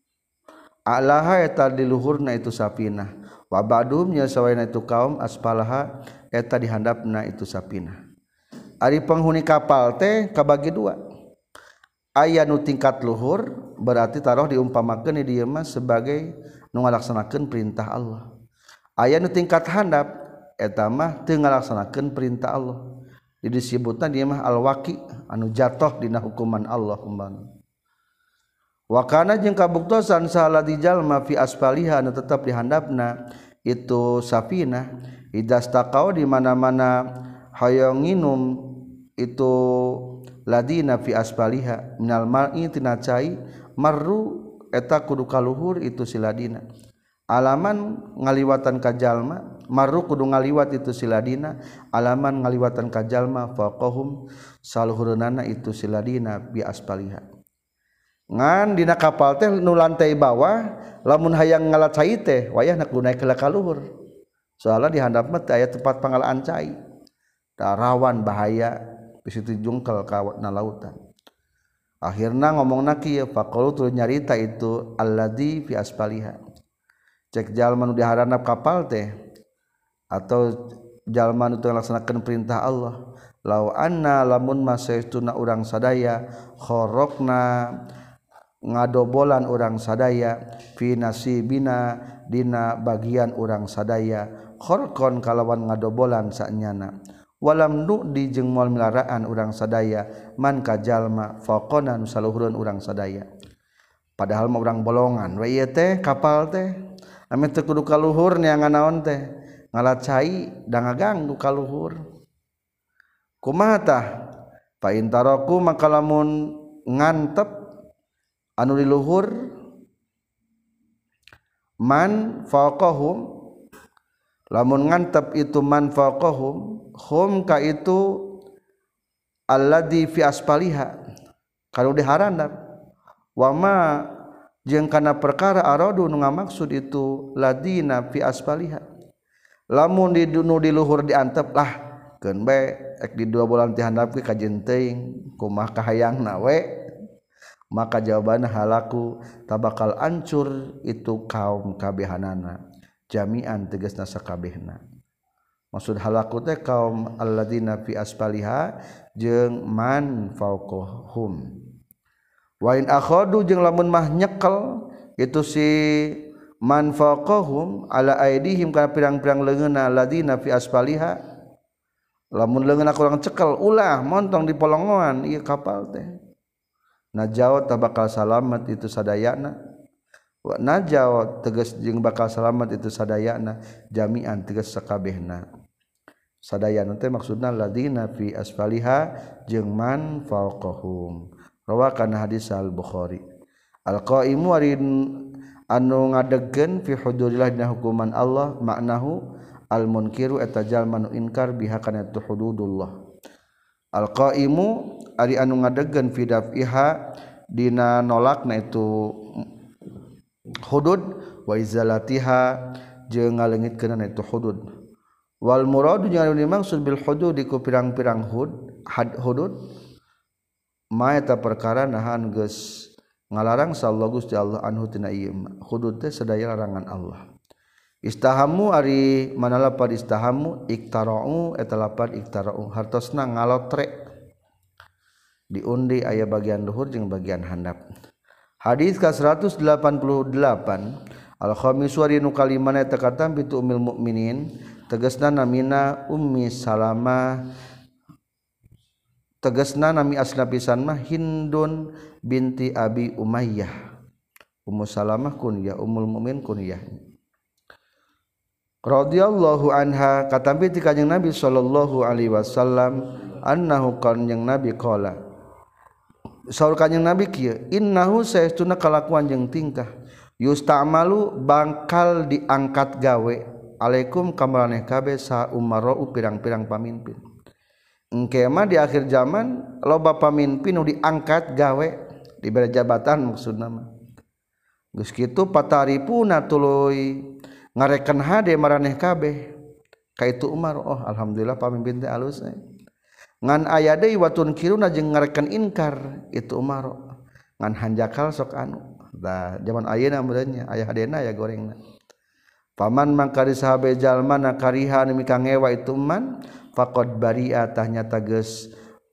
alaha eta di luhurna itu safinah. Wa ba'dhum nya sawarehna itu kaum asfalaha eta di handapna itu sapina. Ari penghuni kapal teh kabagi dua. Aya nu tingkat luhur berarti taruh diumpamakeun di dieu mah sebagai nu ngalaksanakeun perintah Allah. Aya nu tingkat handap eta mah teu ngalaksanakeun perintah Allah. Disebutna dieu mah al-waqi anu jatuh dina hukuman Allah umpama. Wa kana jeung kabuktosan salah di jalma fi asfaliha anu tetep di handapna itu safinah idastaqau di mana-mana hayang nginum itu ladina fi asfaliha minal mar'i tina cai marru eta kudu kaluhur itu si ladina alaman ngaliwatan ka jalma marru kudu ngaliwat itu si ladina alaman ngaliwatan ka jalma faqahum saluhurna itu si ladina bi asfaliha ngan dina kapal teh nu lantai bawah lamun hayang ngalacai teh wayahna kudu naik ka luhur soalnya di handap mah aya tempat panggalaan cai rawan bahaya bisitu jungkel ka lautan akhirna ngomongna kieu faqalu tu nyarita itu alladzi fi asfaliha cek jalma nu di haranap kapal teh atau jalma nu teu ngalaksanakeun perintah Allah lau anna lamun masaistuna urang sadaya kharaqna ngadobolan urang sadaya fi nasibina dina bagian urang sadaya kharqon kalawan ngadobolan sanyana walam nu'di jeung moal milaraan urang sadaya man ka jalma faqona nu saluhureun urang sadaya padahal mah urang bolongan we ieu teh kapal teh ame teu kudu kaluhur neangan naon teh ngalacai da ngaganggu kaluhur kumaha tah fa intaraku maka lamun ngantep anu di luhur man faqahum lamun ngantep itu man faqahum hum ka itu alladzi fi asfaliha kalau di haranap wa ma jeung kana perkara aradu nu ngamaksud itu ladina fi asfaliha lamun di nu di luhur diantep lah keun bae ek di 2 bulan ti handap ge kajen teuing kumaha kahayangna we maka jawabanna halaku tabakal ancur itu kaum kabehanana jami'an tegasna sakabehna maksud halaku teh kaum alladzina fi asfaliha jeung man fauqahum wa in akhadu jeung lamun mah nyekel itu si man fauqahum ala aidihim kana pirang-pirang leungeunna alladzina fi asfaliha lamun leungeunna kurang cekel ulah montong di polongoan ieu kapal teh najawat bakal salamat itu sadayana wa najawat tegas jeung bakal salamat itu sadayana jami'an tegas sakabehna sadayana teh maksudna ladina fi asfaliha jeung man fauqahum rawakan hadis al-Bukhari al-qaimu anu ngadegkeun fi hududillah dina hukuman Allah maknahu al-munkiru eta jalma nu inkar biha kana tu hududullah al-qaimu ari anu ngadegkeun fi daf'iha dina nolakna itu hudud wa izalatiha jeung ngaleungitkeun itu hudud wal muradu jeung anu dimaksud bil hudud ku pirang-pirang hudud ma eta perkara nahan geus ngalarang sallallahu Gusti Allah anhu tina ieu hudud teh sadaya larangan Allah istahamu ari manala pad istahamu iktara'u eta lapad iktara'u hartosna ngalotre diundi aya bagian luhur jeung bagian handap hadis ka 188 al-khamis wa nu kalimana eta katam bitu ummul mukminin tegasna namina ummi salamah tegasna nami asna pisan mah Hindun binti Abi Umayyah. Ummu Salamah kunyah, Ummul Mukminin kunyah. Radhiyallahu anha katampi ti kanjeng Nabi sallallahu alaihi wasallam annahu kanjeng Nabi qala saur kanjeng Nabi kieu innahu saestuna kalakuan jeung tingkah yustamalu bakal diangkat gawe alaikum kamaraneh kabeh sa umarau pirang-pirang pamimpin engke mah di akhir zaman loba pamimpin nu diangkat gawe diberi jabatan maksudna mah geus kitu pataripuna tuluy ngarekan hade maraneh kabeh ka itu Umar. Oh alhamdulillah pamimpin teh alus ngan aya deui watun kiruna jeung ngarekan inkar itu Umar ngan hanjakal sok anu da zaman ayeuna meureunnya aya hadena aya gorengna paman mangkari sahabe jalma na kariha anu mika ngewa itu man faqad bari'a tah nyata geus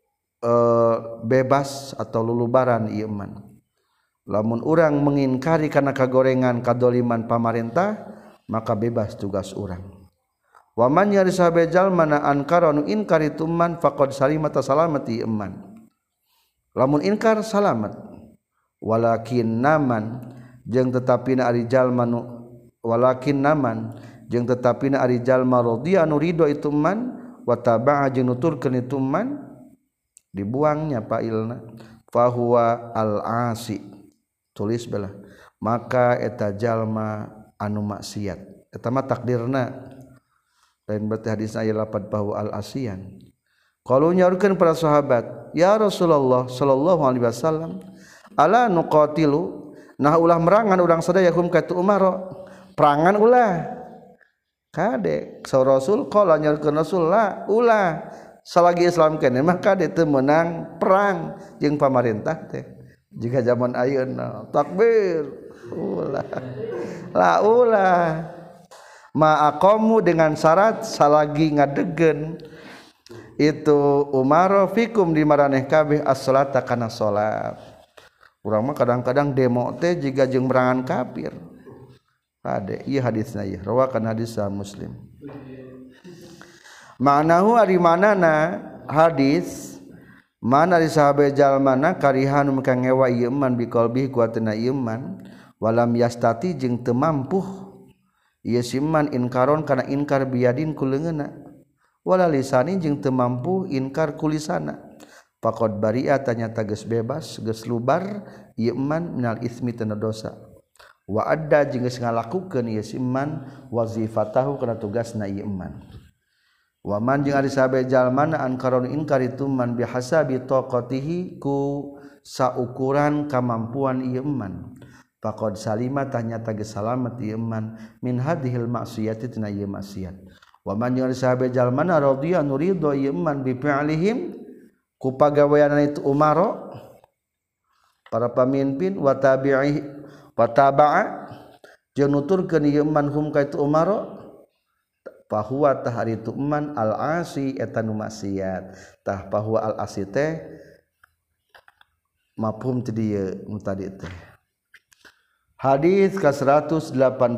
bebas atau lulubaran ieu man lamun urang mengingkari kana kagorengan kadoliman pamarentah maka bebas tugas urang. Wa man yari sahabe jalma na ankara nu inkar itu man faqad salimata salamati iman. Lamun inkar salamat. Walakin naman jeung tetapina ari jalma nu walakin naman jeung tetapina ari jalma radhiya nu ridho itu man wa taba'a jeung nuturkeun itu man dibuangnya pailna fahuwa al-asi tulis belah maka eta jalma anu maksiat eta mah takdirna lain berarti hadis aya lapad bahwa al-asian qalu nyaurkeun para sahabat ya Rasulullah sallallahu alaihi wasallam ala nuqatilu nah ulah merangan urang sadaya hum ka tu Umar perangan ulah kade saur Rasul qala nyaurkeun Rasul la ulah salagi Islam keneh mah kade teu meunang perang jeung pamarentah teh jika zaman ayeuna takbir ulah la ulah ma'aqamu dengan syarat salagi ngadegen itu Umar fikum di maraneh kabeh as-salata kana salat urang mah kadang-kadang demo teh jiga jeung merangan kafir ade ieu hadisna ieu rawakan hadis Muslim ma'nahu ari manana hadis mana di sahabe jalmana karihan maka ngewa ieu man biqalbi kuatna ieu man walam yastati jeung teu mampu ieu siman inkaron kana inkar biadin ku leungeunna wala lisani jeung teu mampu inkar ku lisana faqad bari'a tanyata geus bebas geus lubar ieu man minal ismi tina dosa wa adda jeung geus ngalakukeun ieu siman wazifatahu kana tugasna ieu man wa man jeung ari sahabe jalmana ankaron inkar itu man bihasabi taqatihi ku saukuran kamampuan ieu man faqad salima tanyata geus salamet ieu man min hadhil maksiyati tina ieu maksiat wa man jeung sahabe jalmana radhiya nurido ieu man bi fi'lihim ku pagaweana itu Umar para pamimpin wa tabi'i wa taba'a jeung nuturkeun ieu man hum ka itu Umar fahuwa tah ari itu man al-asi eta nu maksiat tah fahuwa al-asi teh mafhum ti dieu nu tadi teh. Hadis ke-189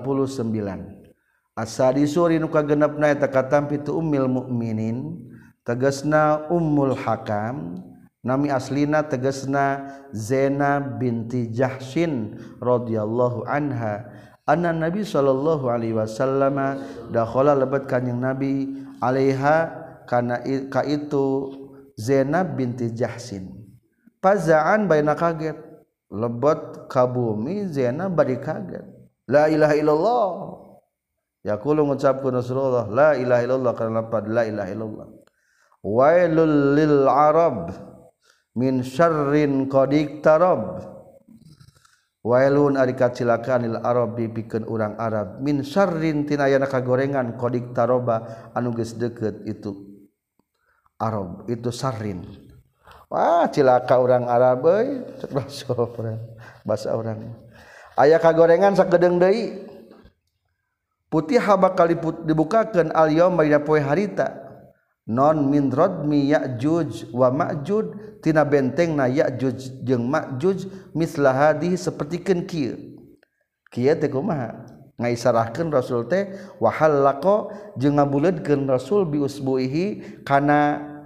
as-sadisuri nu kagenepna eta katampi tu ummul mukminin tegasna Ummul Hakam nami aslina tegasna Zainab binti Jahsyin radhiyallahu anha anna Nabi sallallahu alaihi wasallam dakhala lebat kanjing Nabi alaiha kana ka itu Zainab binti Jahsyin faza'an baina kaget lebet ka bumi Zainab bari kaget la ilaha illallah yaqulu ngucapkeun Rasulullah la ilaha illallah kana lapad la ilaha illallah wailul lil arab min syarrin qad iktarab wailun ari kacilakaan lil arabi pikeun urang Arab min syarrin tina aya kagorengan qad iktaraba anu geus deukeut itu Arab itu syarrin. Wah cilaka orang Arab euy bahasa orang aya kagorengan sakedeung deui putih bakal dibukakeun al yaum dina poe harita non min radmi ya'juj wa ma'juj tina bentengna ya'juj jeung ma'juj mislah hadhihi sapertikeun kieu teh kumaha ngaisarahkeun Rasul teh wa halaqa jeung ngabuleudkeun Rasul bi usbuihi kana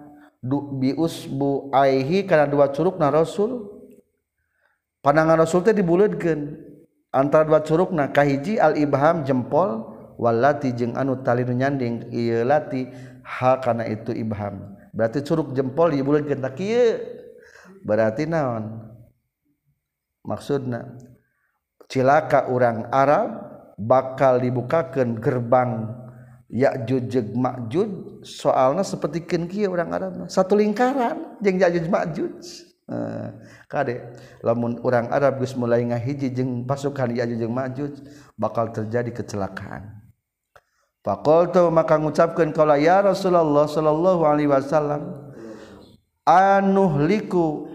bi usbu aihi kana dua curugna Rasul. Pandangan Rasul teh dibuleutkeun antara dua curugna kahiji al ibham jempol walati jeung anu tali nu nyanding ieu lati ha kana itu ibham. Berarti curug jempol dibuleutkeun tak kieu. Berarti naon? Maksudna cilaka urang Arab bakal dibukakeun gerbang Ya'juj jeung Ma'juj soalna sapertikeun kieu urang Arab satu lingkaran jeung Ya'juj Ma'juj. Kade lamun urang Arab geus mulai ngahiji jeung pasukan Ya'juj jeung Ma'juj bakal terjadi kecelakaan. Faqultu maka ngucapkeun qala ya Rasulullah sallallahu alaihi wasallam anuhliku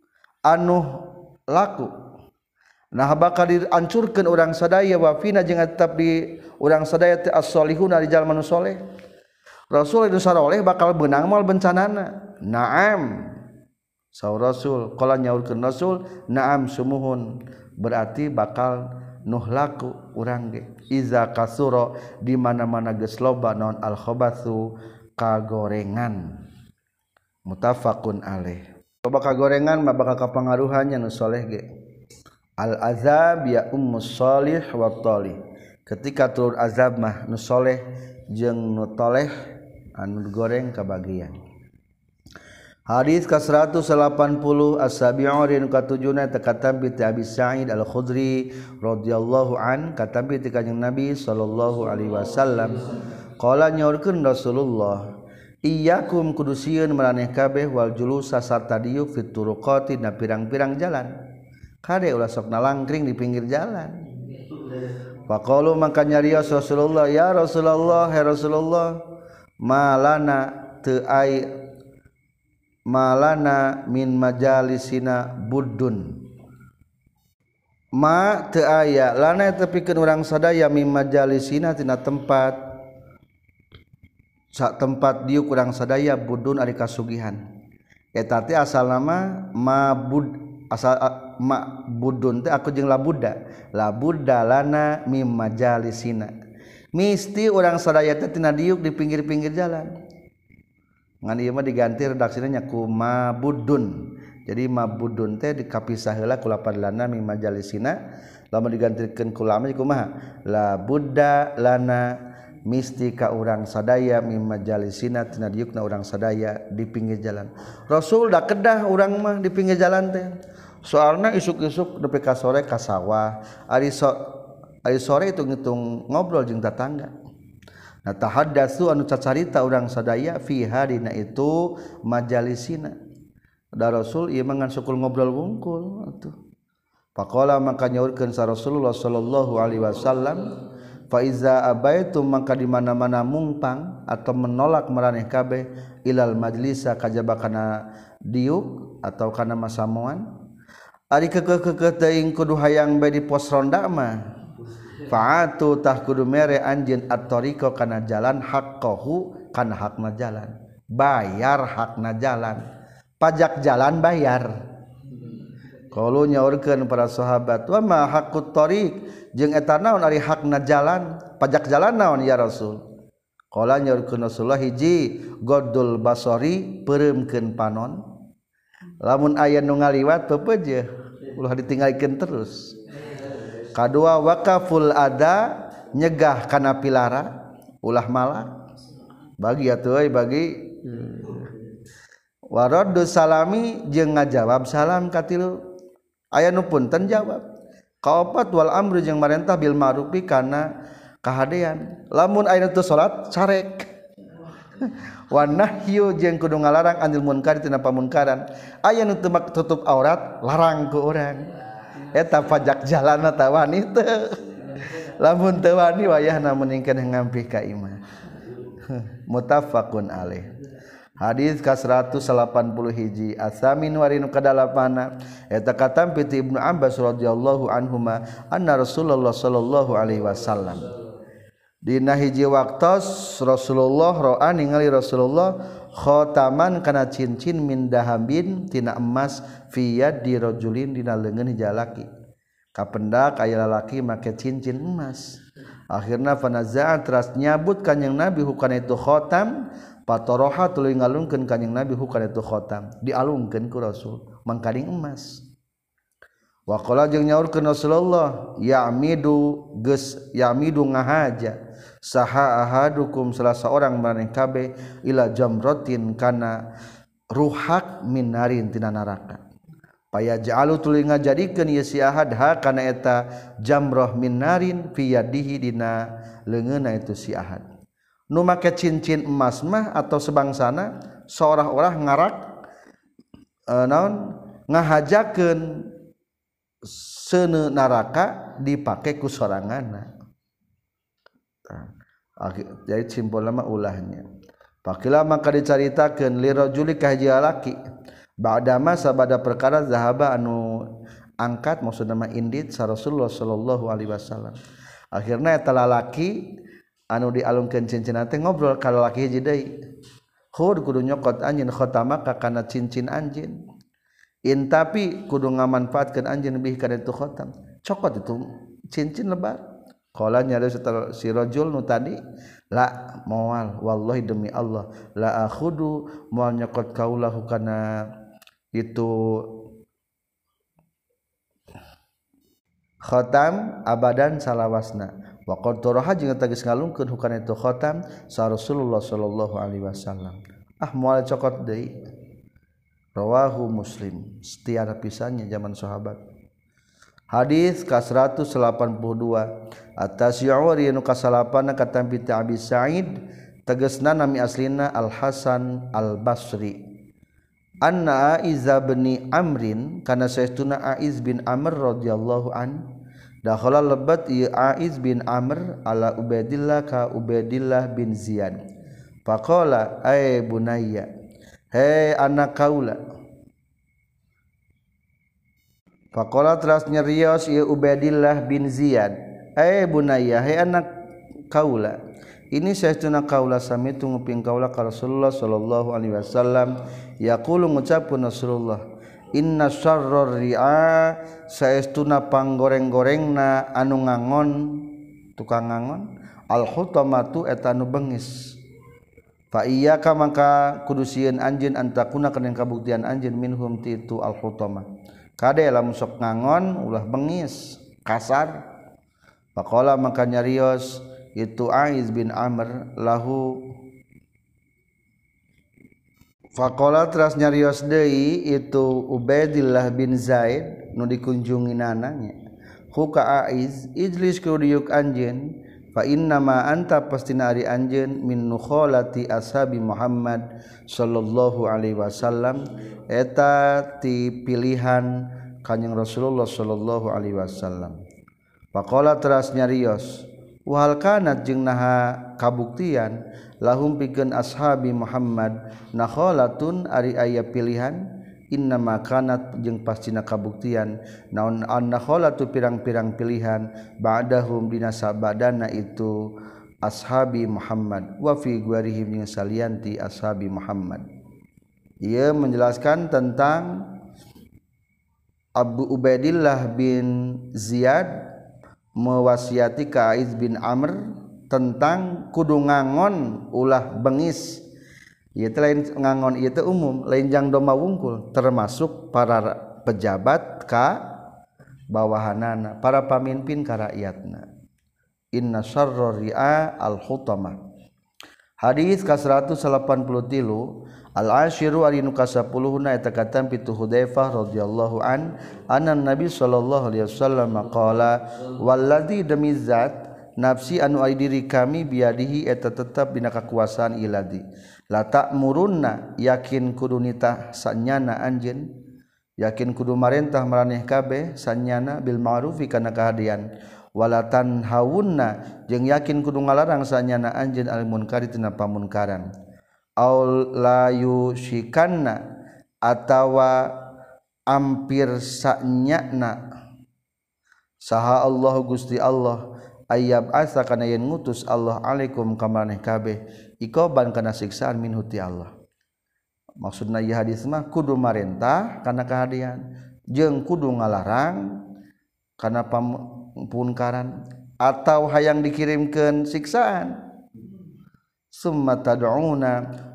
laku nah bakal dihancurkeun urang sadaya wa fina jeung tetap di urang sadaya teh as-solihuna di jalma nu soleh. Rasul itu saroleh bakal beunang moal bencanana. Naam. Saur Rasul qala nyaurkeun Rasul naam sumuhun berarti bakal nuhlaku urang ge iza kasura di mana-mana geus loba naon al khabatsu kagorengan. Muttafaqun alaih. Loba kagorengan mah bakal kapangaruhannya nu soleh ge. Al azab ya ummus shalih wa talih. Ketika turun azab mah nu soleh jeung nu toleh anu goreng kabagian. Hadis ke-180 as-sabi'u rin katujuna takatambi ti Abi Sa'id Al-Khudri radhiyallahu an katambi ti Kanjeng Nabi sallallahu alaihi wasallam qala nyaurkeun Rasulullah iyyakum kudusieun maraneh kabeh wal julusa sarta diuk fit turuqati na pirang-pirang jalan kade ulah sok nalangkring di pinggir jalan. Faqalu maka nyarios Rasulullah ya Rasulullah ya Rasulullah malana teu ai malana min majalisina buddun ma teu aya lana tepikeun urang sadaya min majalisina tina tempat sak tempat diuk urang sadaya buddun ari kasugihan eta teh asal nama mabud asal ma buddun teh aku jeung labudda lana min majalisina misti urang sadaya teh tina diuk di pinggir-pinggir jalan. Ngan ieu mah diganti redaksina nya ku mabudun. Jadi mabudun teh dikapisah heula ku lapad lana mi majalisina, lamun digantikeun ku lama kumaha? La budda lana misti ka urang sadaya mi majalisina tina diukna urang sadaya di pinggir jalan. Rasul da kedah urang mah di pinggir jalan teh. Soalna isuk-isuk nepi ka sore ka sawah, ari sore itu ngitung ngobrol jeung tetangga. Nah tahaddatsu anu cacarita urang sadaya fiha dina itu majalisina. Da Rasul ieu mah ngan sukul ngobrol wungkul atuh. Faqala maka nyaurkeun sa Rasulullah sallallahu alaihi wasallam fa iza abaitum maka di mana-mana mungpang atau menolak maraneh kabeh ilal majlisa kajaba kana diuk atau kana masamuan ari keukeuh teuing kudu hayang bae di pos ronda mah fa'atu tah kudu mere anjeun at-tariqa kana jalan haqqahu kana hakna jalan bayar hakna jalan pajak jalan bayar qalu nyaurkeun para sahabat wa ma haqqut tariq jeung eta naon ari hakna jalan pajak jalan naon ya Rasul qala nyaurkeun Rasulullah hiji godul basari peureumkeun panon lamun aya nu ngaliwat pepeujeuh ulah ditinggalikeun terus. Kadua wakaful ada nyegah kana pilara ulah malak bagi atuh euy bagi waraddu salami jeung ngajawab salam katilu aya nu punten jawab kaopat wal amru jeung marentah bil ma'rufi kana kahadean lamun aya teu salat carek wa nahyu jeung kudu ngalarang anil munkar tina pamunkaran aya nu teu tutup aurat larang ku urang eta pajak jalan eta wanita lamun teu wani wayahna meningkeun ngampih ka imah. Muttafaqun alaih. Hadis ka 180 hiji asamin warinu kadalapana eta katam piti Ibnu Abbas radhiyallahu anhuma anna Rasulullah sallallahu alaihi wasallam dina hiji waktos Rasulullah ro'a ningali Rasulullah khotaman kana cincin min dahabin tina emas fi yadi rajulin dina leungeun hiji lalaki kapendak aya lalaki make cincin emas akhirna fanaza'a teras nyabut kanjing Nabi hukana itu khotam patoroha tuluy ngalungkeun kanjing Nabi hukana itu khotam dialungkeun ku Rasul mangkading emas. Wa qala jeung nyaurkeun Rasulullah ya'midu geus ya'midu ngahaja saha ahadukum salah seorang maneh kabeh ila jamratin kana ruhak min narin tina neraka. Paya ja'alu tuluy ngajadikeun ieu si ahad ha kana eta jamrah min narin fi yadihi dina leungeunna itu si ahad. Nu make cincin emas mah atau sebangsana seorang-orang ngarak naon ngahajakeun seuneu neraka dipake ku soranganna. Jadi simpulna mah ulahnya. Pakila maka dicaritakeun li rajuli ka hiji lalaki ba'dama sabada perkara zahaba anu angkat maksudna mah indit sa Rasulullah sallallahu alaihi wasallam. Akhirna eta lalaki anu dialungkeun cincinna teh ngobrol ka lalaki hiji deui. Khud kudu nyokot anjeun khotamaka kana cincin anjeun. In tapi kudu ngamanfaatkeun anjeun bih kana itu khotam. Cokot itu cincin lebar. Qala nyari setelah si rajul nu tadi la moal wallahi demi Allah la akhudu moal nyokot kaulahu kana itu khotam abadan salawasna wa qad taraha jeung tagis ngalungkeun hukana itu khotam sa Rasulullah sallallahu alaihi wasallam moal cokot deui rawahu Muslim setiara pisannya zaman sahabat. Hadis ka-182 at-tasyi'u anu kasalapan katampi Abi Sa'id tegasna nami aslina Al-Hasan Al-Basri anna Aiz bin Amrin kana saestuna Aiz bin Amr radhiyallahu an dakhala lebat ieu Aiz bin Amr ala Ubaidillah ka Ubaidillah bin Ziyad faqala ay bunayya hey anak kaula faqala teras nyarios ieu Ubaidillah bin Ziyad bunayya hai anak kaula ini saestuna kaula samitu nguping kaula ka Rasulullah sallallahu alaihi wasallam yaqulu ngucapkeun Rasulullah inna syarrar ri'a saestuna panggoreng-gorengna anu ngangon tukang ngangon al khutamatu eta anu beungis fa iyyaka maka kudu sieun anjeun antakuna kana kabuktian anjeun minhum ti itu al khutamah kade lamun sok ngangon ulah beungis kasar. Faqala maka nyarios itu Aiz bin Amr lahu faqala teras nyarios deui itu Ubaidillah bin Zaid nu dikunjunginana nya huka Aiz ijlis kudiuk anjeun fa inna ma anta pastina ari anjeun min nukholati ashabi Muhammad sallallahu alaihi wasallam eta ti pilihan kanjing Rasulullah sallallahu alaihi wasallam. Faqala teras nyarios wal kanat jeung naha kabuktian lahum pikeun ashabi Muhammad nakhalatun ari aya pilihan innama kanat jeung pastina kabuktian naon an-nakhalatu pirang-pirang pilihan ba'dahum dina sabadana itu ashabi Muhammad wa fi gwarihim jeung salianti ashabi Muhammad. Ia menjelaskan tentang Abu Ubaidillah bin Ziyad mewasiati ka Aiz bin Amr tentang kudu ngangon ulah beungis. Ieu teh lain ngangon ieu teh umum, lain jang doma wungkul termasuk para pejabat ka bawahanana, para pamimpin ka rakyatna. Inna syarrar ri'a al-hutamah. Hadis ka-183 al-ashiru ari nu ka-10 eta katam pitu Hudzaifah radhiyallahu an anna Nabi sallallahu alaihi wasallam qala walladzi demi zat nafsi anu ai diri kami biadihi eta tetep dina kakuasaan iladi la ta'murunna yakin kudu nitah sanyana anjeun yakin kudu marentah maraneh kabeh sanyana bil ma'rufi kana kahadian walatan hawunna jeung yakin kudu ngalarang sanyana anjeun al munkari tina pamunkaran aul la yushikanna atawa ampir sanyana saha Allah Gusti Allah ayyab asa kana yen ngutus Allah alaikum ka maneh kabeh ikoban kana siksaan minhu ti Allah. Maksudna ieu hadis mah kudu marentah kana kahadian jeung kudu ngalarang kana pamunkaran atau hayang dikirimkeun siksaan summa tad'una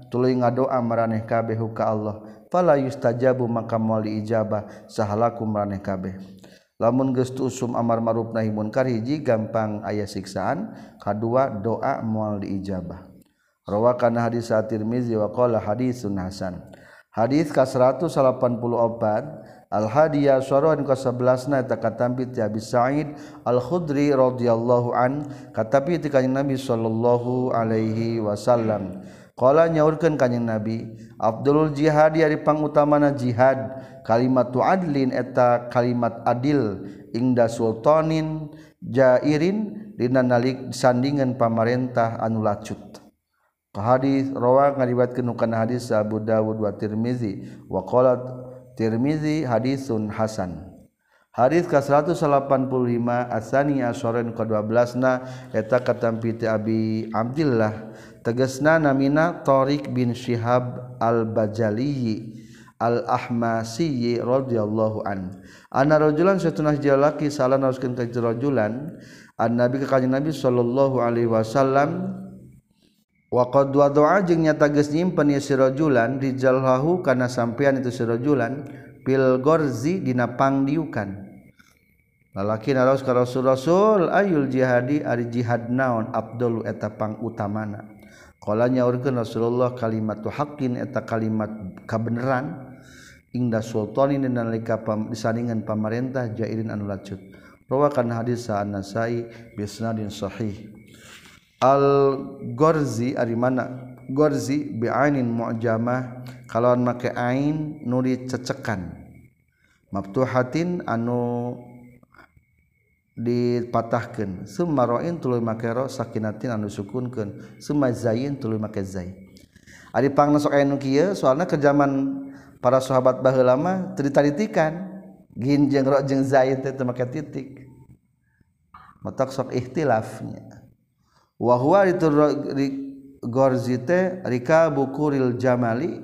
tuluy ngadoa maraneh kabeh ka Allah fala yustajabu maka moal diijabah sahalakum maraneh kabeh lamun geus usum amar ma'ruf nahi munkar hiji gampang aya siksaan kadua doa moal diijabah rawakan hadis at-Tirmizi wa qala hadisun hasan hadis ka 184 al-hadiyah syarahan ka 11 eta katampi ti Abi Sa'id Al-Khudri radhiyallahu an katapi ti kanjing Nabi sallallahu alaihi wasallam qala nyaurkeun kanjing Nabi afdalul jihad ari pangutamana jihad kalimatu adlin eta kalimat adil ingda sultanin jairin dina nalik sandingan pamarentah anu lacut hadis rawa ngariwayatkeun kana hadis Abu Dawud wa Tirmizi wa qala Tirmizi hadisun hasan hadis ka 185 asani ashoren ka 12na eta katampi ti Abi Abdillah tegasna namina Tariq bin Syihab al-Bajali al-Ahmasi radhiyallahu an anna rajulan satunah jalaki salah nauskeun ka rajulan an-nabi ka kanjeng Nabi sallallahu alaihi wasallam wa qad wada'a jeung nyata geus nyimpen ya si rajulan rijallahu kana sampean itu si rajulan pil gorzi dina pangdiukan lalaki naraos ka rasul ayul jihadi ari jihad naon afdalu eta pangutamana qala nyaurkeun Rasulullah kalimatu haqqin eta kalimat kabeneran ingda sultanin nalika disandingan pamarentah jairin anu lacut rawakan hadis An-Nasai bi isnadin sahih al-Gorzi ari mana Gorzi bi ainin mu'jamah kalawan make ain nu dicecekan maftuhatin anu dipatahkeun summa ra'in tuluy make ra sakinatin anu sukunkeun summa zayin tuluy make zai ari pangna sok aya nu kieu soalna ke zaman para sahabat baheula mah teu ditaritikan gin jeung ra jeung zain teh teu make titik matak sok ikhtilafnya wa huwa itu gorzi teh rikabu kuril jamali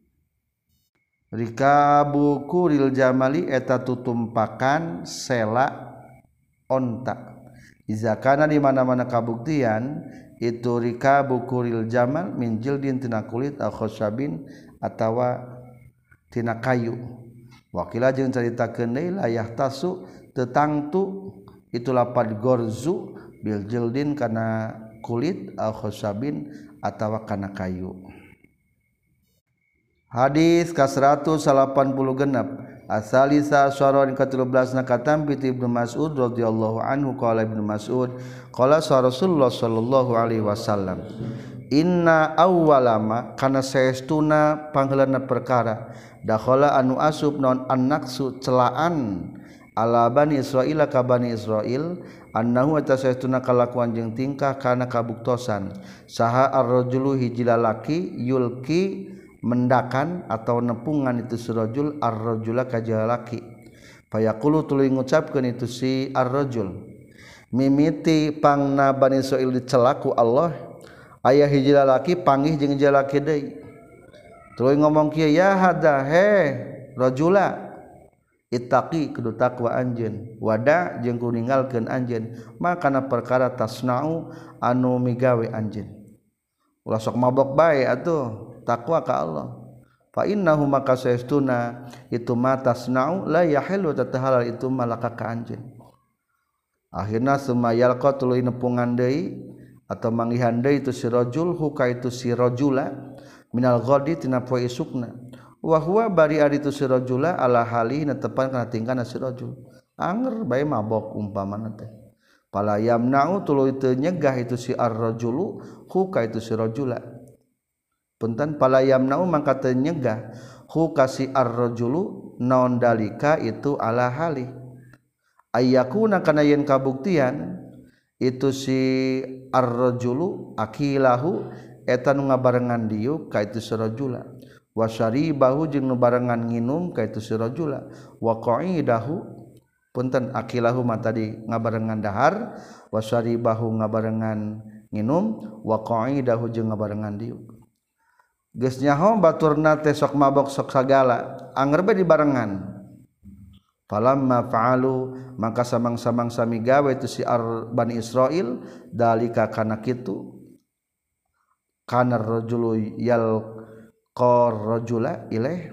eta tutumpakan sela onta iza kana di mana-mana kabuktian itu rikabu kuril jamal min jildin tina kulit al khosabin atawa tina kayu wakila jeung caritakeun deui layah tasu teu tangtu itu lapad gorzu bil jildin kana kulit al khosabin atawa kana kayu hadis ka 180 genep asalisa syaron ka 13 na katampi Ibnu Mas'ud radhiyallahu anhu qala Ibnu Mas'ud qala Rasulullah sallallahu alaihi wasallam inna awwalama kana saestuna pangheulana perkara dakhala anu asub non annaksu celaan ala bani Israil ka bani Israil annahu atasaytuna kalakuan jeung tingkah kana kabuktosan saha ar-rajulu hiji lalaki yulki mendakan atau nepungan itu si rajul ar-rajula ka jalaki fayaqulu tuluy ngucapkeun itu si ar-rajul mimiti pangna bani Israil dicelaku Allah aya hiji lalaki panggih jeung jalaki deui tuluy ngomong kieu ya hada he rajula ittaqi kudu takwa anjeun wada jeung kudu ninggalkeun anjeun makana perkara tasnau anu migawe anjeun ulah sok mabok bae atuh takwa ka Allah fa innahu maka saestuna itu ma tasnau la yahillu tatahalal itu malaka ka anjeun akhirna sumayal qa tuluy nepungan deui atau manggihan deui itu si rajul huka itu si rajula minal ghadi tina poe isukna wa huwa bari ari tu si rajula ala hali netepan kana tingkahna si rajul anger bae mabok umpamana teh pala yamna'u tuluy teu nyegah itu si ar-rajulu hu ka itu si rajula punten pala yamna'u mangka teu nyegah hu ka si ar-rajulu naon dalika itu ala hali ayyakuna kana yen kabuktian itu si ar-rajulu akilahu eta nu ngabarengan diuk ka itu si rajula wa syaribahu jeung nu barengan nginum ka itu si rajula wa qa'idahu punten akilahu mah tadi ngabarengan dahar wa syaribahu ngabarengan nginum wa qa'idahu jeung ngabarengan diuk geus nyaho baturna teh sok mabok sok sagala anger bae dibarengan falamma fa'alu maka samang-samang sami gawe itu si Bani Israil dalika kana kitu kana rajulu yalqa rajula ilaih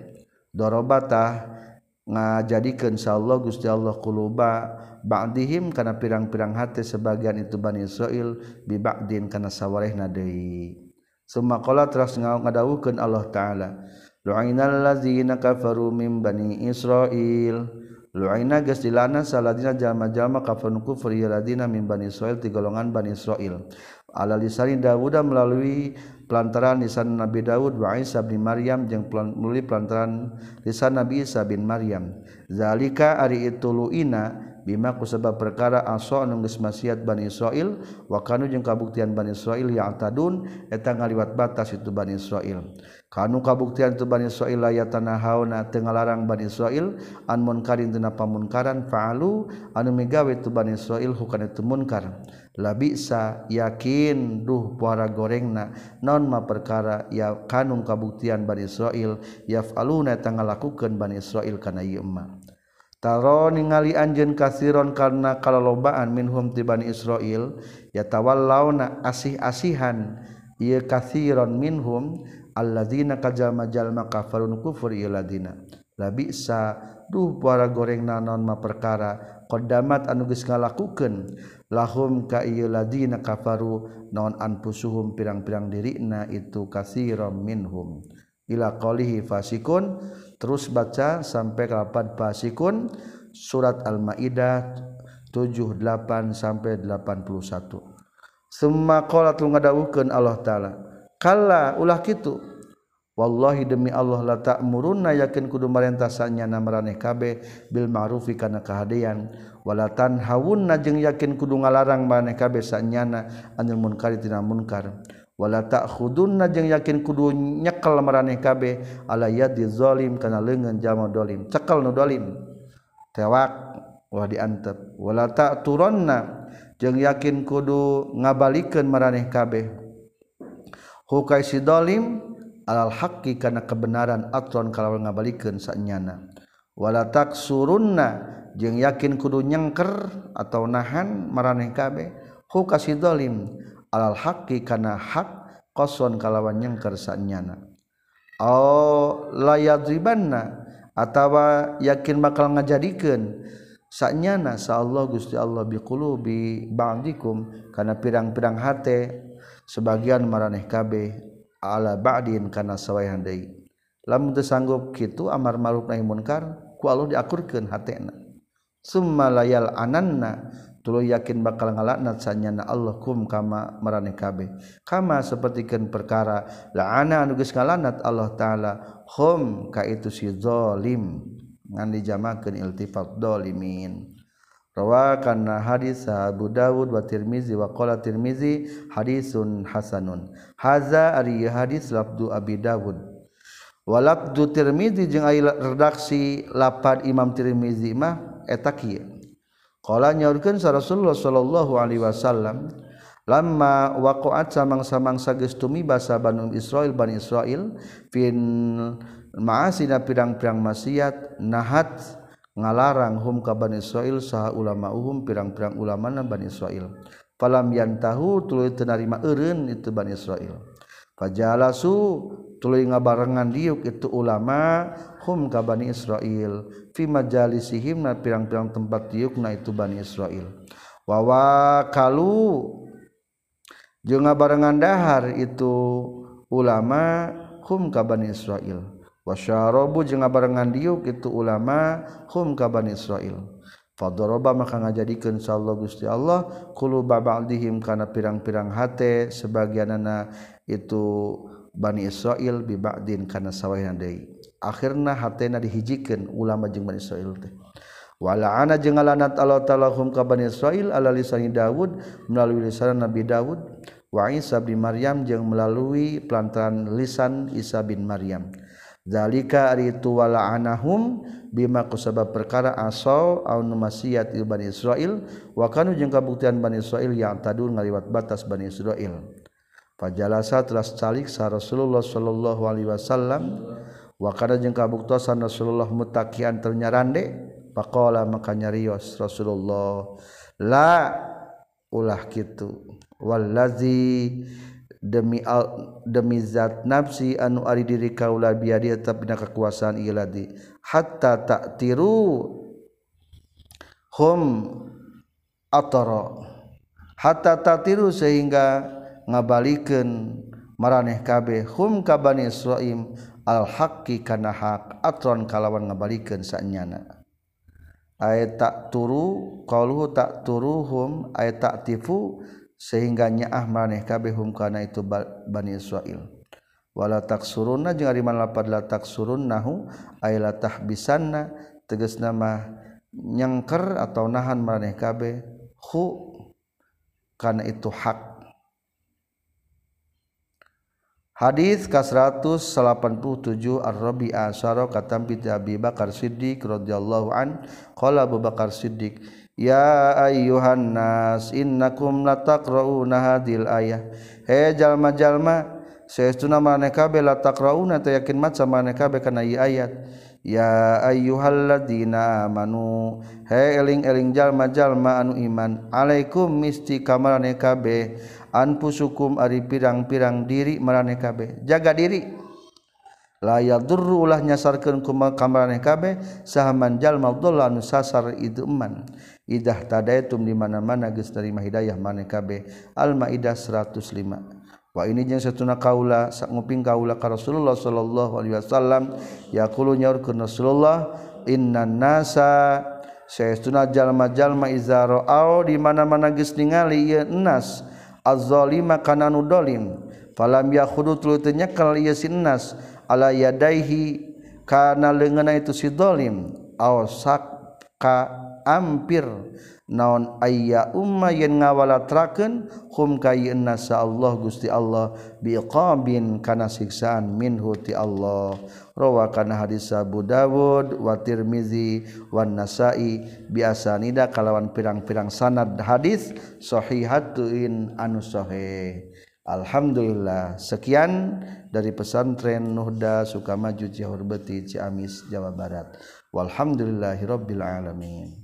darabata ngajadikeun insyaallah Gusti Allah quluba ba'dihim kana pirang-pirang hate sebagian itu Bani Israil bi ba'din kana sawarehna deui. Summa qala teras ngadawuhkeun Allah taala lu'inal ladzina kafaru min bani Israil lu'ina geus dilana saladina jalma-jalma kafaru kufur ya ladina min bani Israil ti golongan Bani Israil ala lisani Dawud melalui pelantaran lisan Nabi Daud wa Isa bin Maryam jeung melalui pelantaran lisan Nabi Isa bin Maryam zalika ari itu lu'ina bima kusabab perkara asa anu geus maksiat Bani Israil wa kanu jeung kabuktian Bani Israil ya'tadun eta ngaliwat batas itu Bani Israil kanu kabuktian itu Bani Israil layatanahauna teu ngalarang Bani Israil an munkarin tina pamunkaran fa'alu anu migawe itu Bani Israil hukana itu munkar labisa yakin duh puara gorengna naon ma perkara ya kanu kabuktian Bani Israil yaf'aluna eta ngalakukeun Bani Israil kana ieu mah taro ningali anjeun kasiron karena kalolobaan minhum ti Bani Israil yatawallawna asih-asihan ieu kasiron minhum alladzina kajama-jalma kafarun kufur ieu ladina labisa duh puara gorengna naon ma perkara qaddamat anu geus ngalakukeun lahum ka ieu ladina kafaru naon anfusuhum pirang-pirang dirina itu kasiron minhum ila qalihi fasikun terus baca sampai ke lapan fasikun surat Al-Maidah 78 sampai 81. Summa qala tu ngadawuhkeun Allah taala kalla ulah kitu wallahi demi Allah la ta'murunna yakin kudu marentah sanyana maraneh kabeh bil ma'rufi kana kahadean wala tanhawunna jeung yakin kudu ngalarang maraneh kabeh sanyana anil munkari tina munkar wala ta'khudunna jeung yakin kudu nyekel maraneh kabeh ala yadi zalim kana leungeun jalma dolim cekel nu dolim tewak ulah diantep wala ta'turanna jeung yakin kudu ngabalikeun maraneh kabeh hukai si dolim alal haqqi kana kebenaran atron kalawan ngabalikeun sanyana wala taksurunna jeung yakin kudu nyengker atau nahan maraneh kabeh hukai si dolim alal haqqi kana hak qason kalawan nyengker sanyana au layadribanna atawa yakin bakal ngajadikeun sanyana saallah Gusti Allah biqulubi ba'dikum kana pirang-pirang hate sebagian maraneh kabeh ala ba'din kana sawayan deui lamun teu sanggup kitu amar ma'ruf nahi munkar ku Allah diakurkeun hatena summa layal ananna tuluy yakin bakal ngalaknat sanyana Allah kum kama maraneh kabeh kama sapertikeun perkara la'ana anu geus ngalanat Allah taala hum ka itu si zalim ngan dijamakeun iltifat zalimin rawakanna hadis Abu Dawud wa Tirmizi wa qala Tirmizi hadisun hasanun haza ari hadis lafdu Abi Dawud wa lafdu Tirmizi jeung aya redaksi lapad Imam Tirmizi mah eta kieu qala nyaurkeun sa Rasulullah sallallahu alaihi wasallam lamma waqa'at samang-samangsa geus tumiba Bani Israil fin ma'asina pirang-pirang maksiat nahat ngalarang hum ka Bani Israil saha ulamauhum pirang-pirang ulamana Bani Israil falam yantahu tuluy teu narima eureun itu Bani Israil fajalasu tuluy ngabarengan diuk itu ulama hum ka Bani Israil fi majalisihim na pirang-pirang tempat diukna itu Bani Israil wa wakalu jeung ngabarengan dahar itu ulama hum ka Bani Israil wasyarabu jeung ngabarengan diuk itu ulama hum ka Bani Israil fadaraba maka ngajadikeun insyaallah Gusti Allah quluba ba'dihim kana pirang-pirang hate sebagianana itu Bani Israil bi ba'din kana sawayan deui akhirna hatena dihijikeun ulama jeung Bani Israil teh wala'ana jeung ngalanat Allah taala hum ka Bani Israil ala lisan Daud melalui lisan Nabi Daud wa Isa bin Maryam jeung melalui pelantaran lisan Isa bin Maryam zalika ari itu wala'anahum bima kusabab perkara asau au maksiat Bani Israil wa kanu jeung kabuktian Bani Israil yang tadun ngaliwat batas Bani Israil fajalasa teras calik sa Rasulullah sallallahu alaihi wasallam wa kana jeung kabuktosan Rasulullah mutaqian ternyarande faqala maka nyarios Rasulullah la ulah kitu wallazi demi zat nafsi anu ari diri kaula biadi tetap dina kekuasaan ieu ladi hatta ta'tiru hum atara hatta ta'tiru sehingga ngabalikeun maraneh kabeh hum ka Bani Israil al haqqi kana hak atron kalawan ngabalikeun saenyana ay tak turu qauluhu tak turuhum ay ta'tifu sehingga nyaah maneh kabeh hum kana itu Bani Israil wala taksurunna jeung ari mana lapad la taksurunnahu ay la tahbisanna tegasna mah nyangker atau nahan maneh kabeh hu kana itu hak. Hadis ke-187 Ar-Rabi'ah Asyara katampi Abi Bakar Siddiq radhiyallahu an qala Abu Bakar Siddiq ya ayyuhan nas innakum lataqrauna hadhil ayah he jalma-jalma saestuna maneh kabeh lataqrauna teh yakin maca maneh kabeh kana ieu ayat ya ayyuhalladzina amanu he eling-eling jalma-jalma anu iman alaikum misti ka maneh kabeh anfusukum ari pirang-pirang diri maraneh kabeh jaga diri la yadurru ulah nyasarkeun ka maraneh kabeh sahaman jalma dhalla anu sasar itu eman idah tadaitum di mana-mana geus narima hidayah maneh kabeh Al-Maidah 105 wa ini jeung satuna kaula nguping kaula ka Rasulullah sallallahu alaihi wasallam yaqulu nyaurkeun Rasulullah innan nasa saestuna jalma-jalma iza ra'au di mana-mana geus ningali ieu nas az-zalima kana nu zalim falam yakhudu tuluy teu nyekel ieu sinnas ala yadaihi kana leungeunna itu si zalim aw sakka ampir naon ayya umma yen ngawalatrakeun hum kayinna sa Allah Gusti Allah biqabin kana siksaan minhu ti Allah rawa kana hadis Abu Dawud wa Tirmizi wan Nasa'i biasanida kalawan pirang-pirang sanad hadis sahihatun anu sahih. Alhamdulillah sekian dari pesantren Nuhda Sukamaju Cihurbeti Ciamis Jawa Barat walhamdulillahirabbil alamin.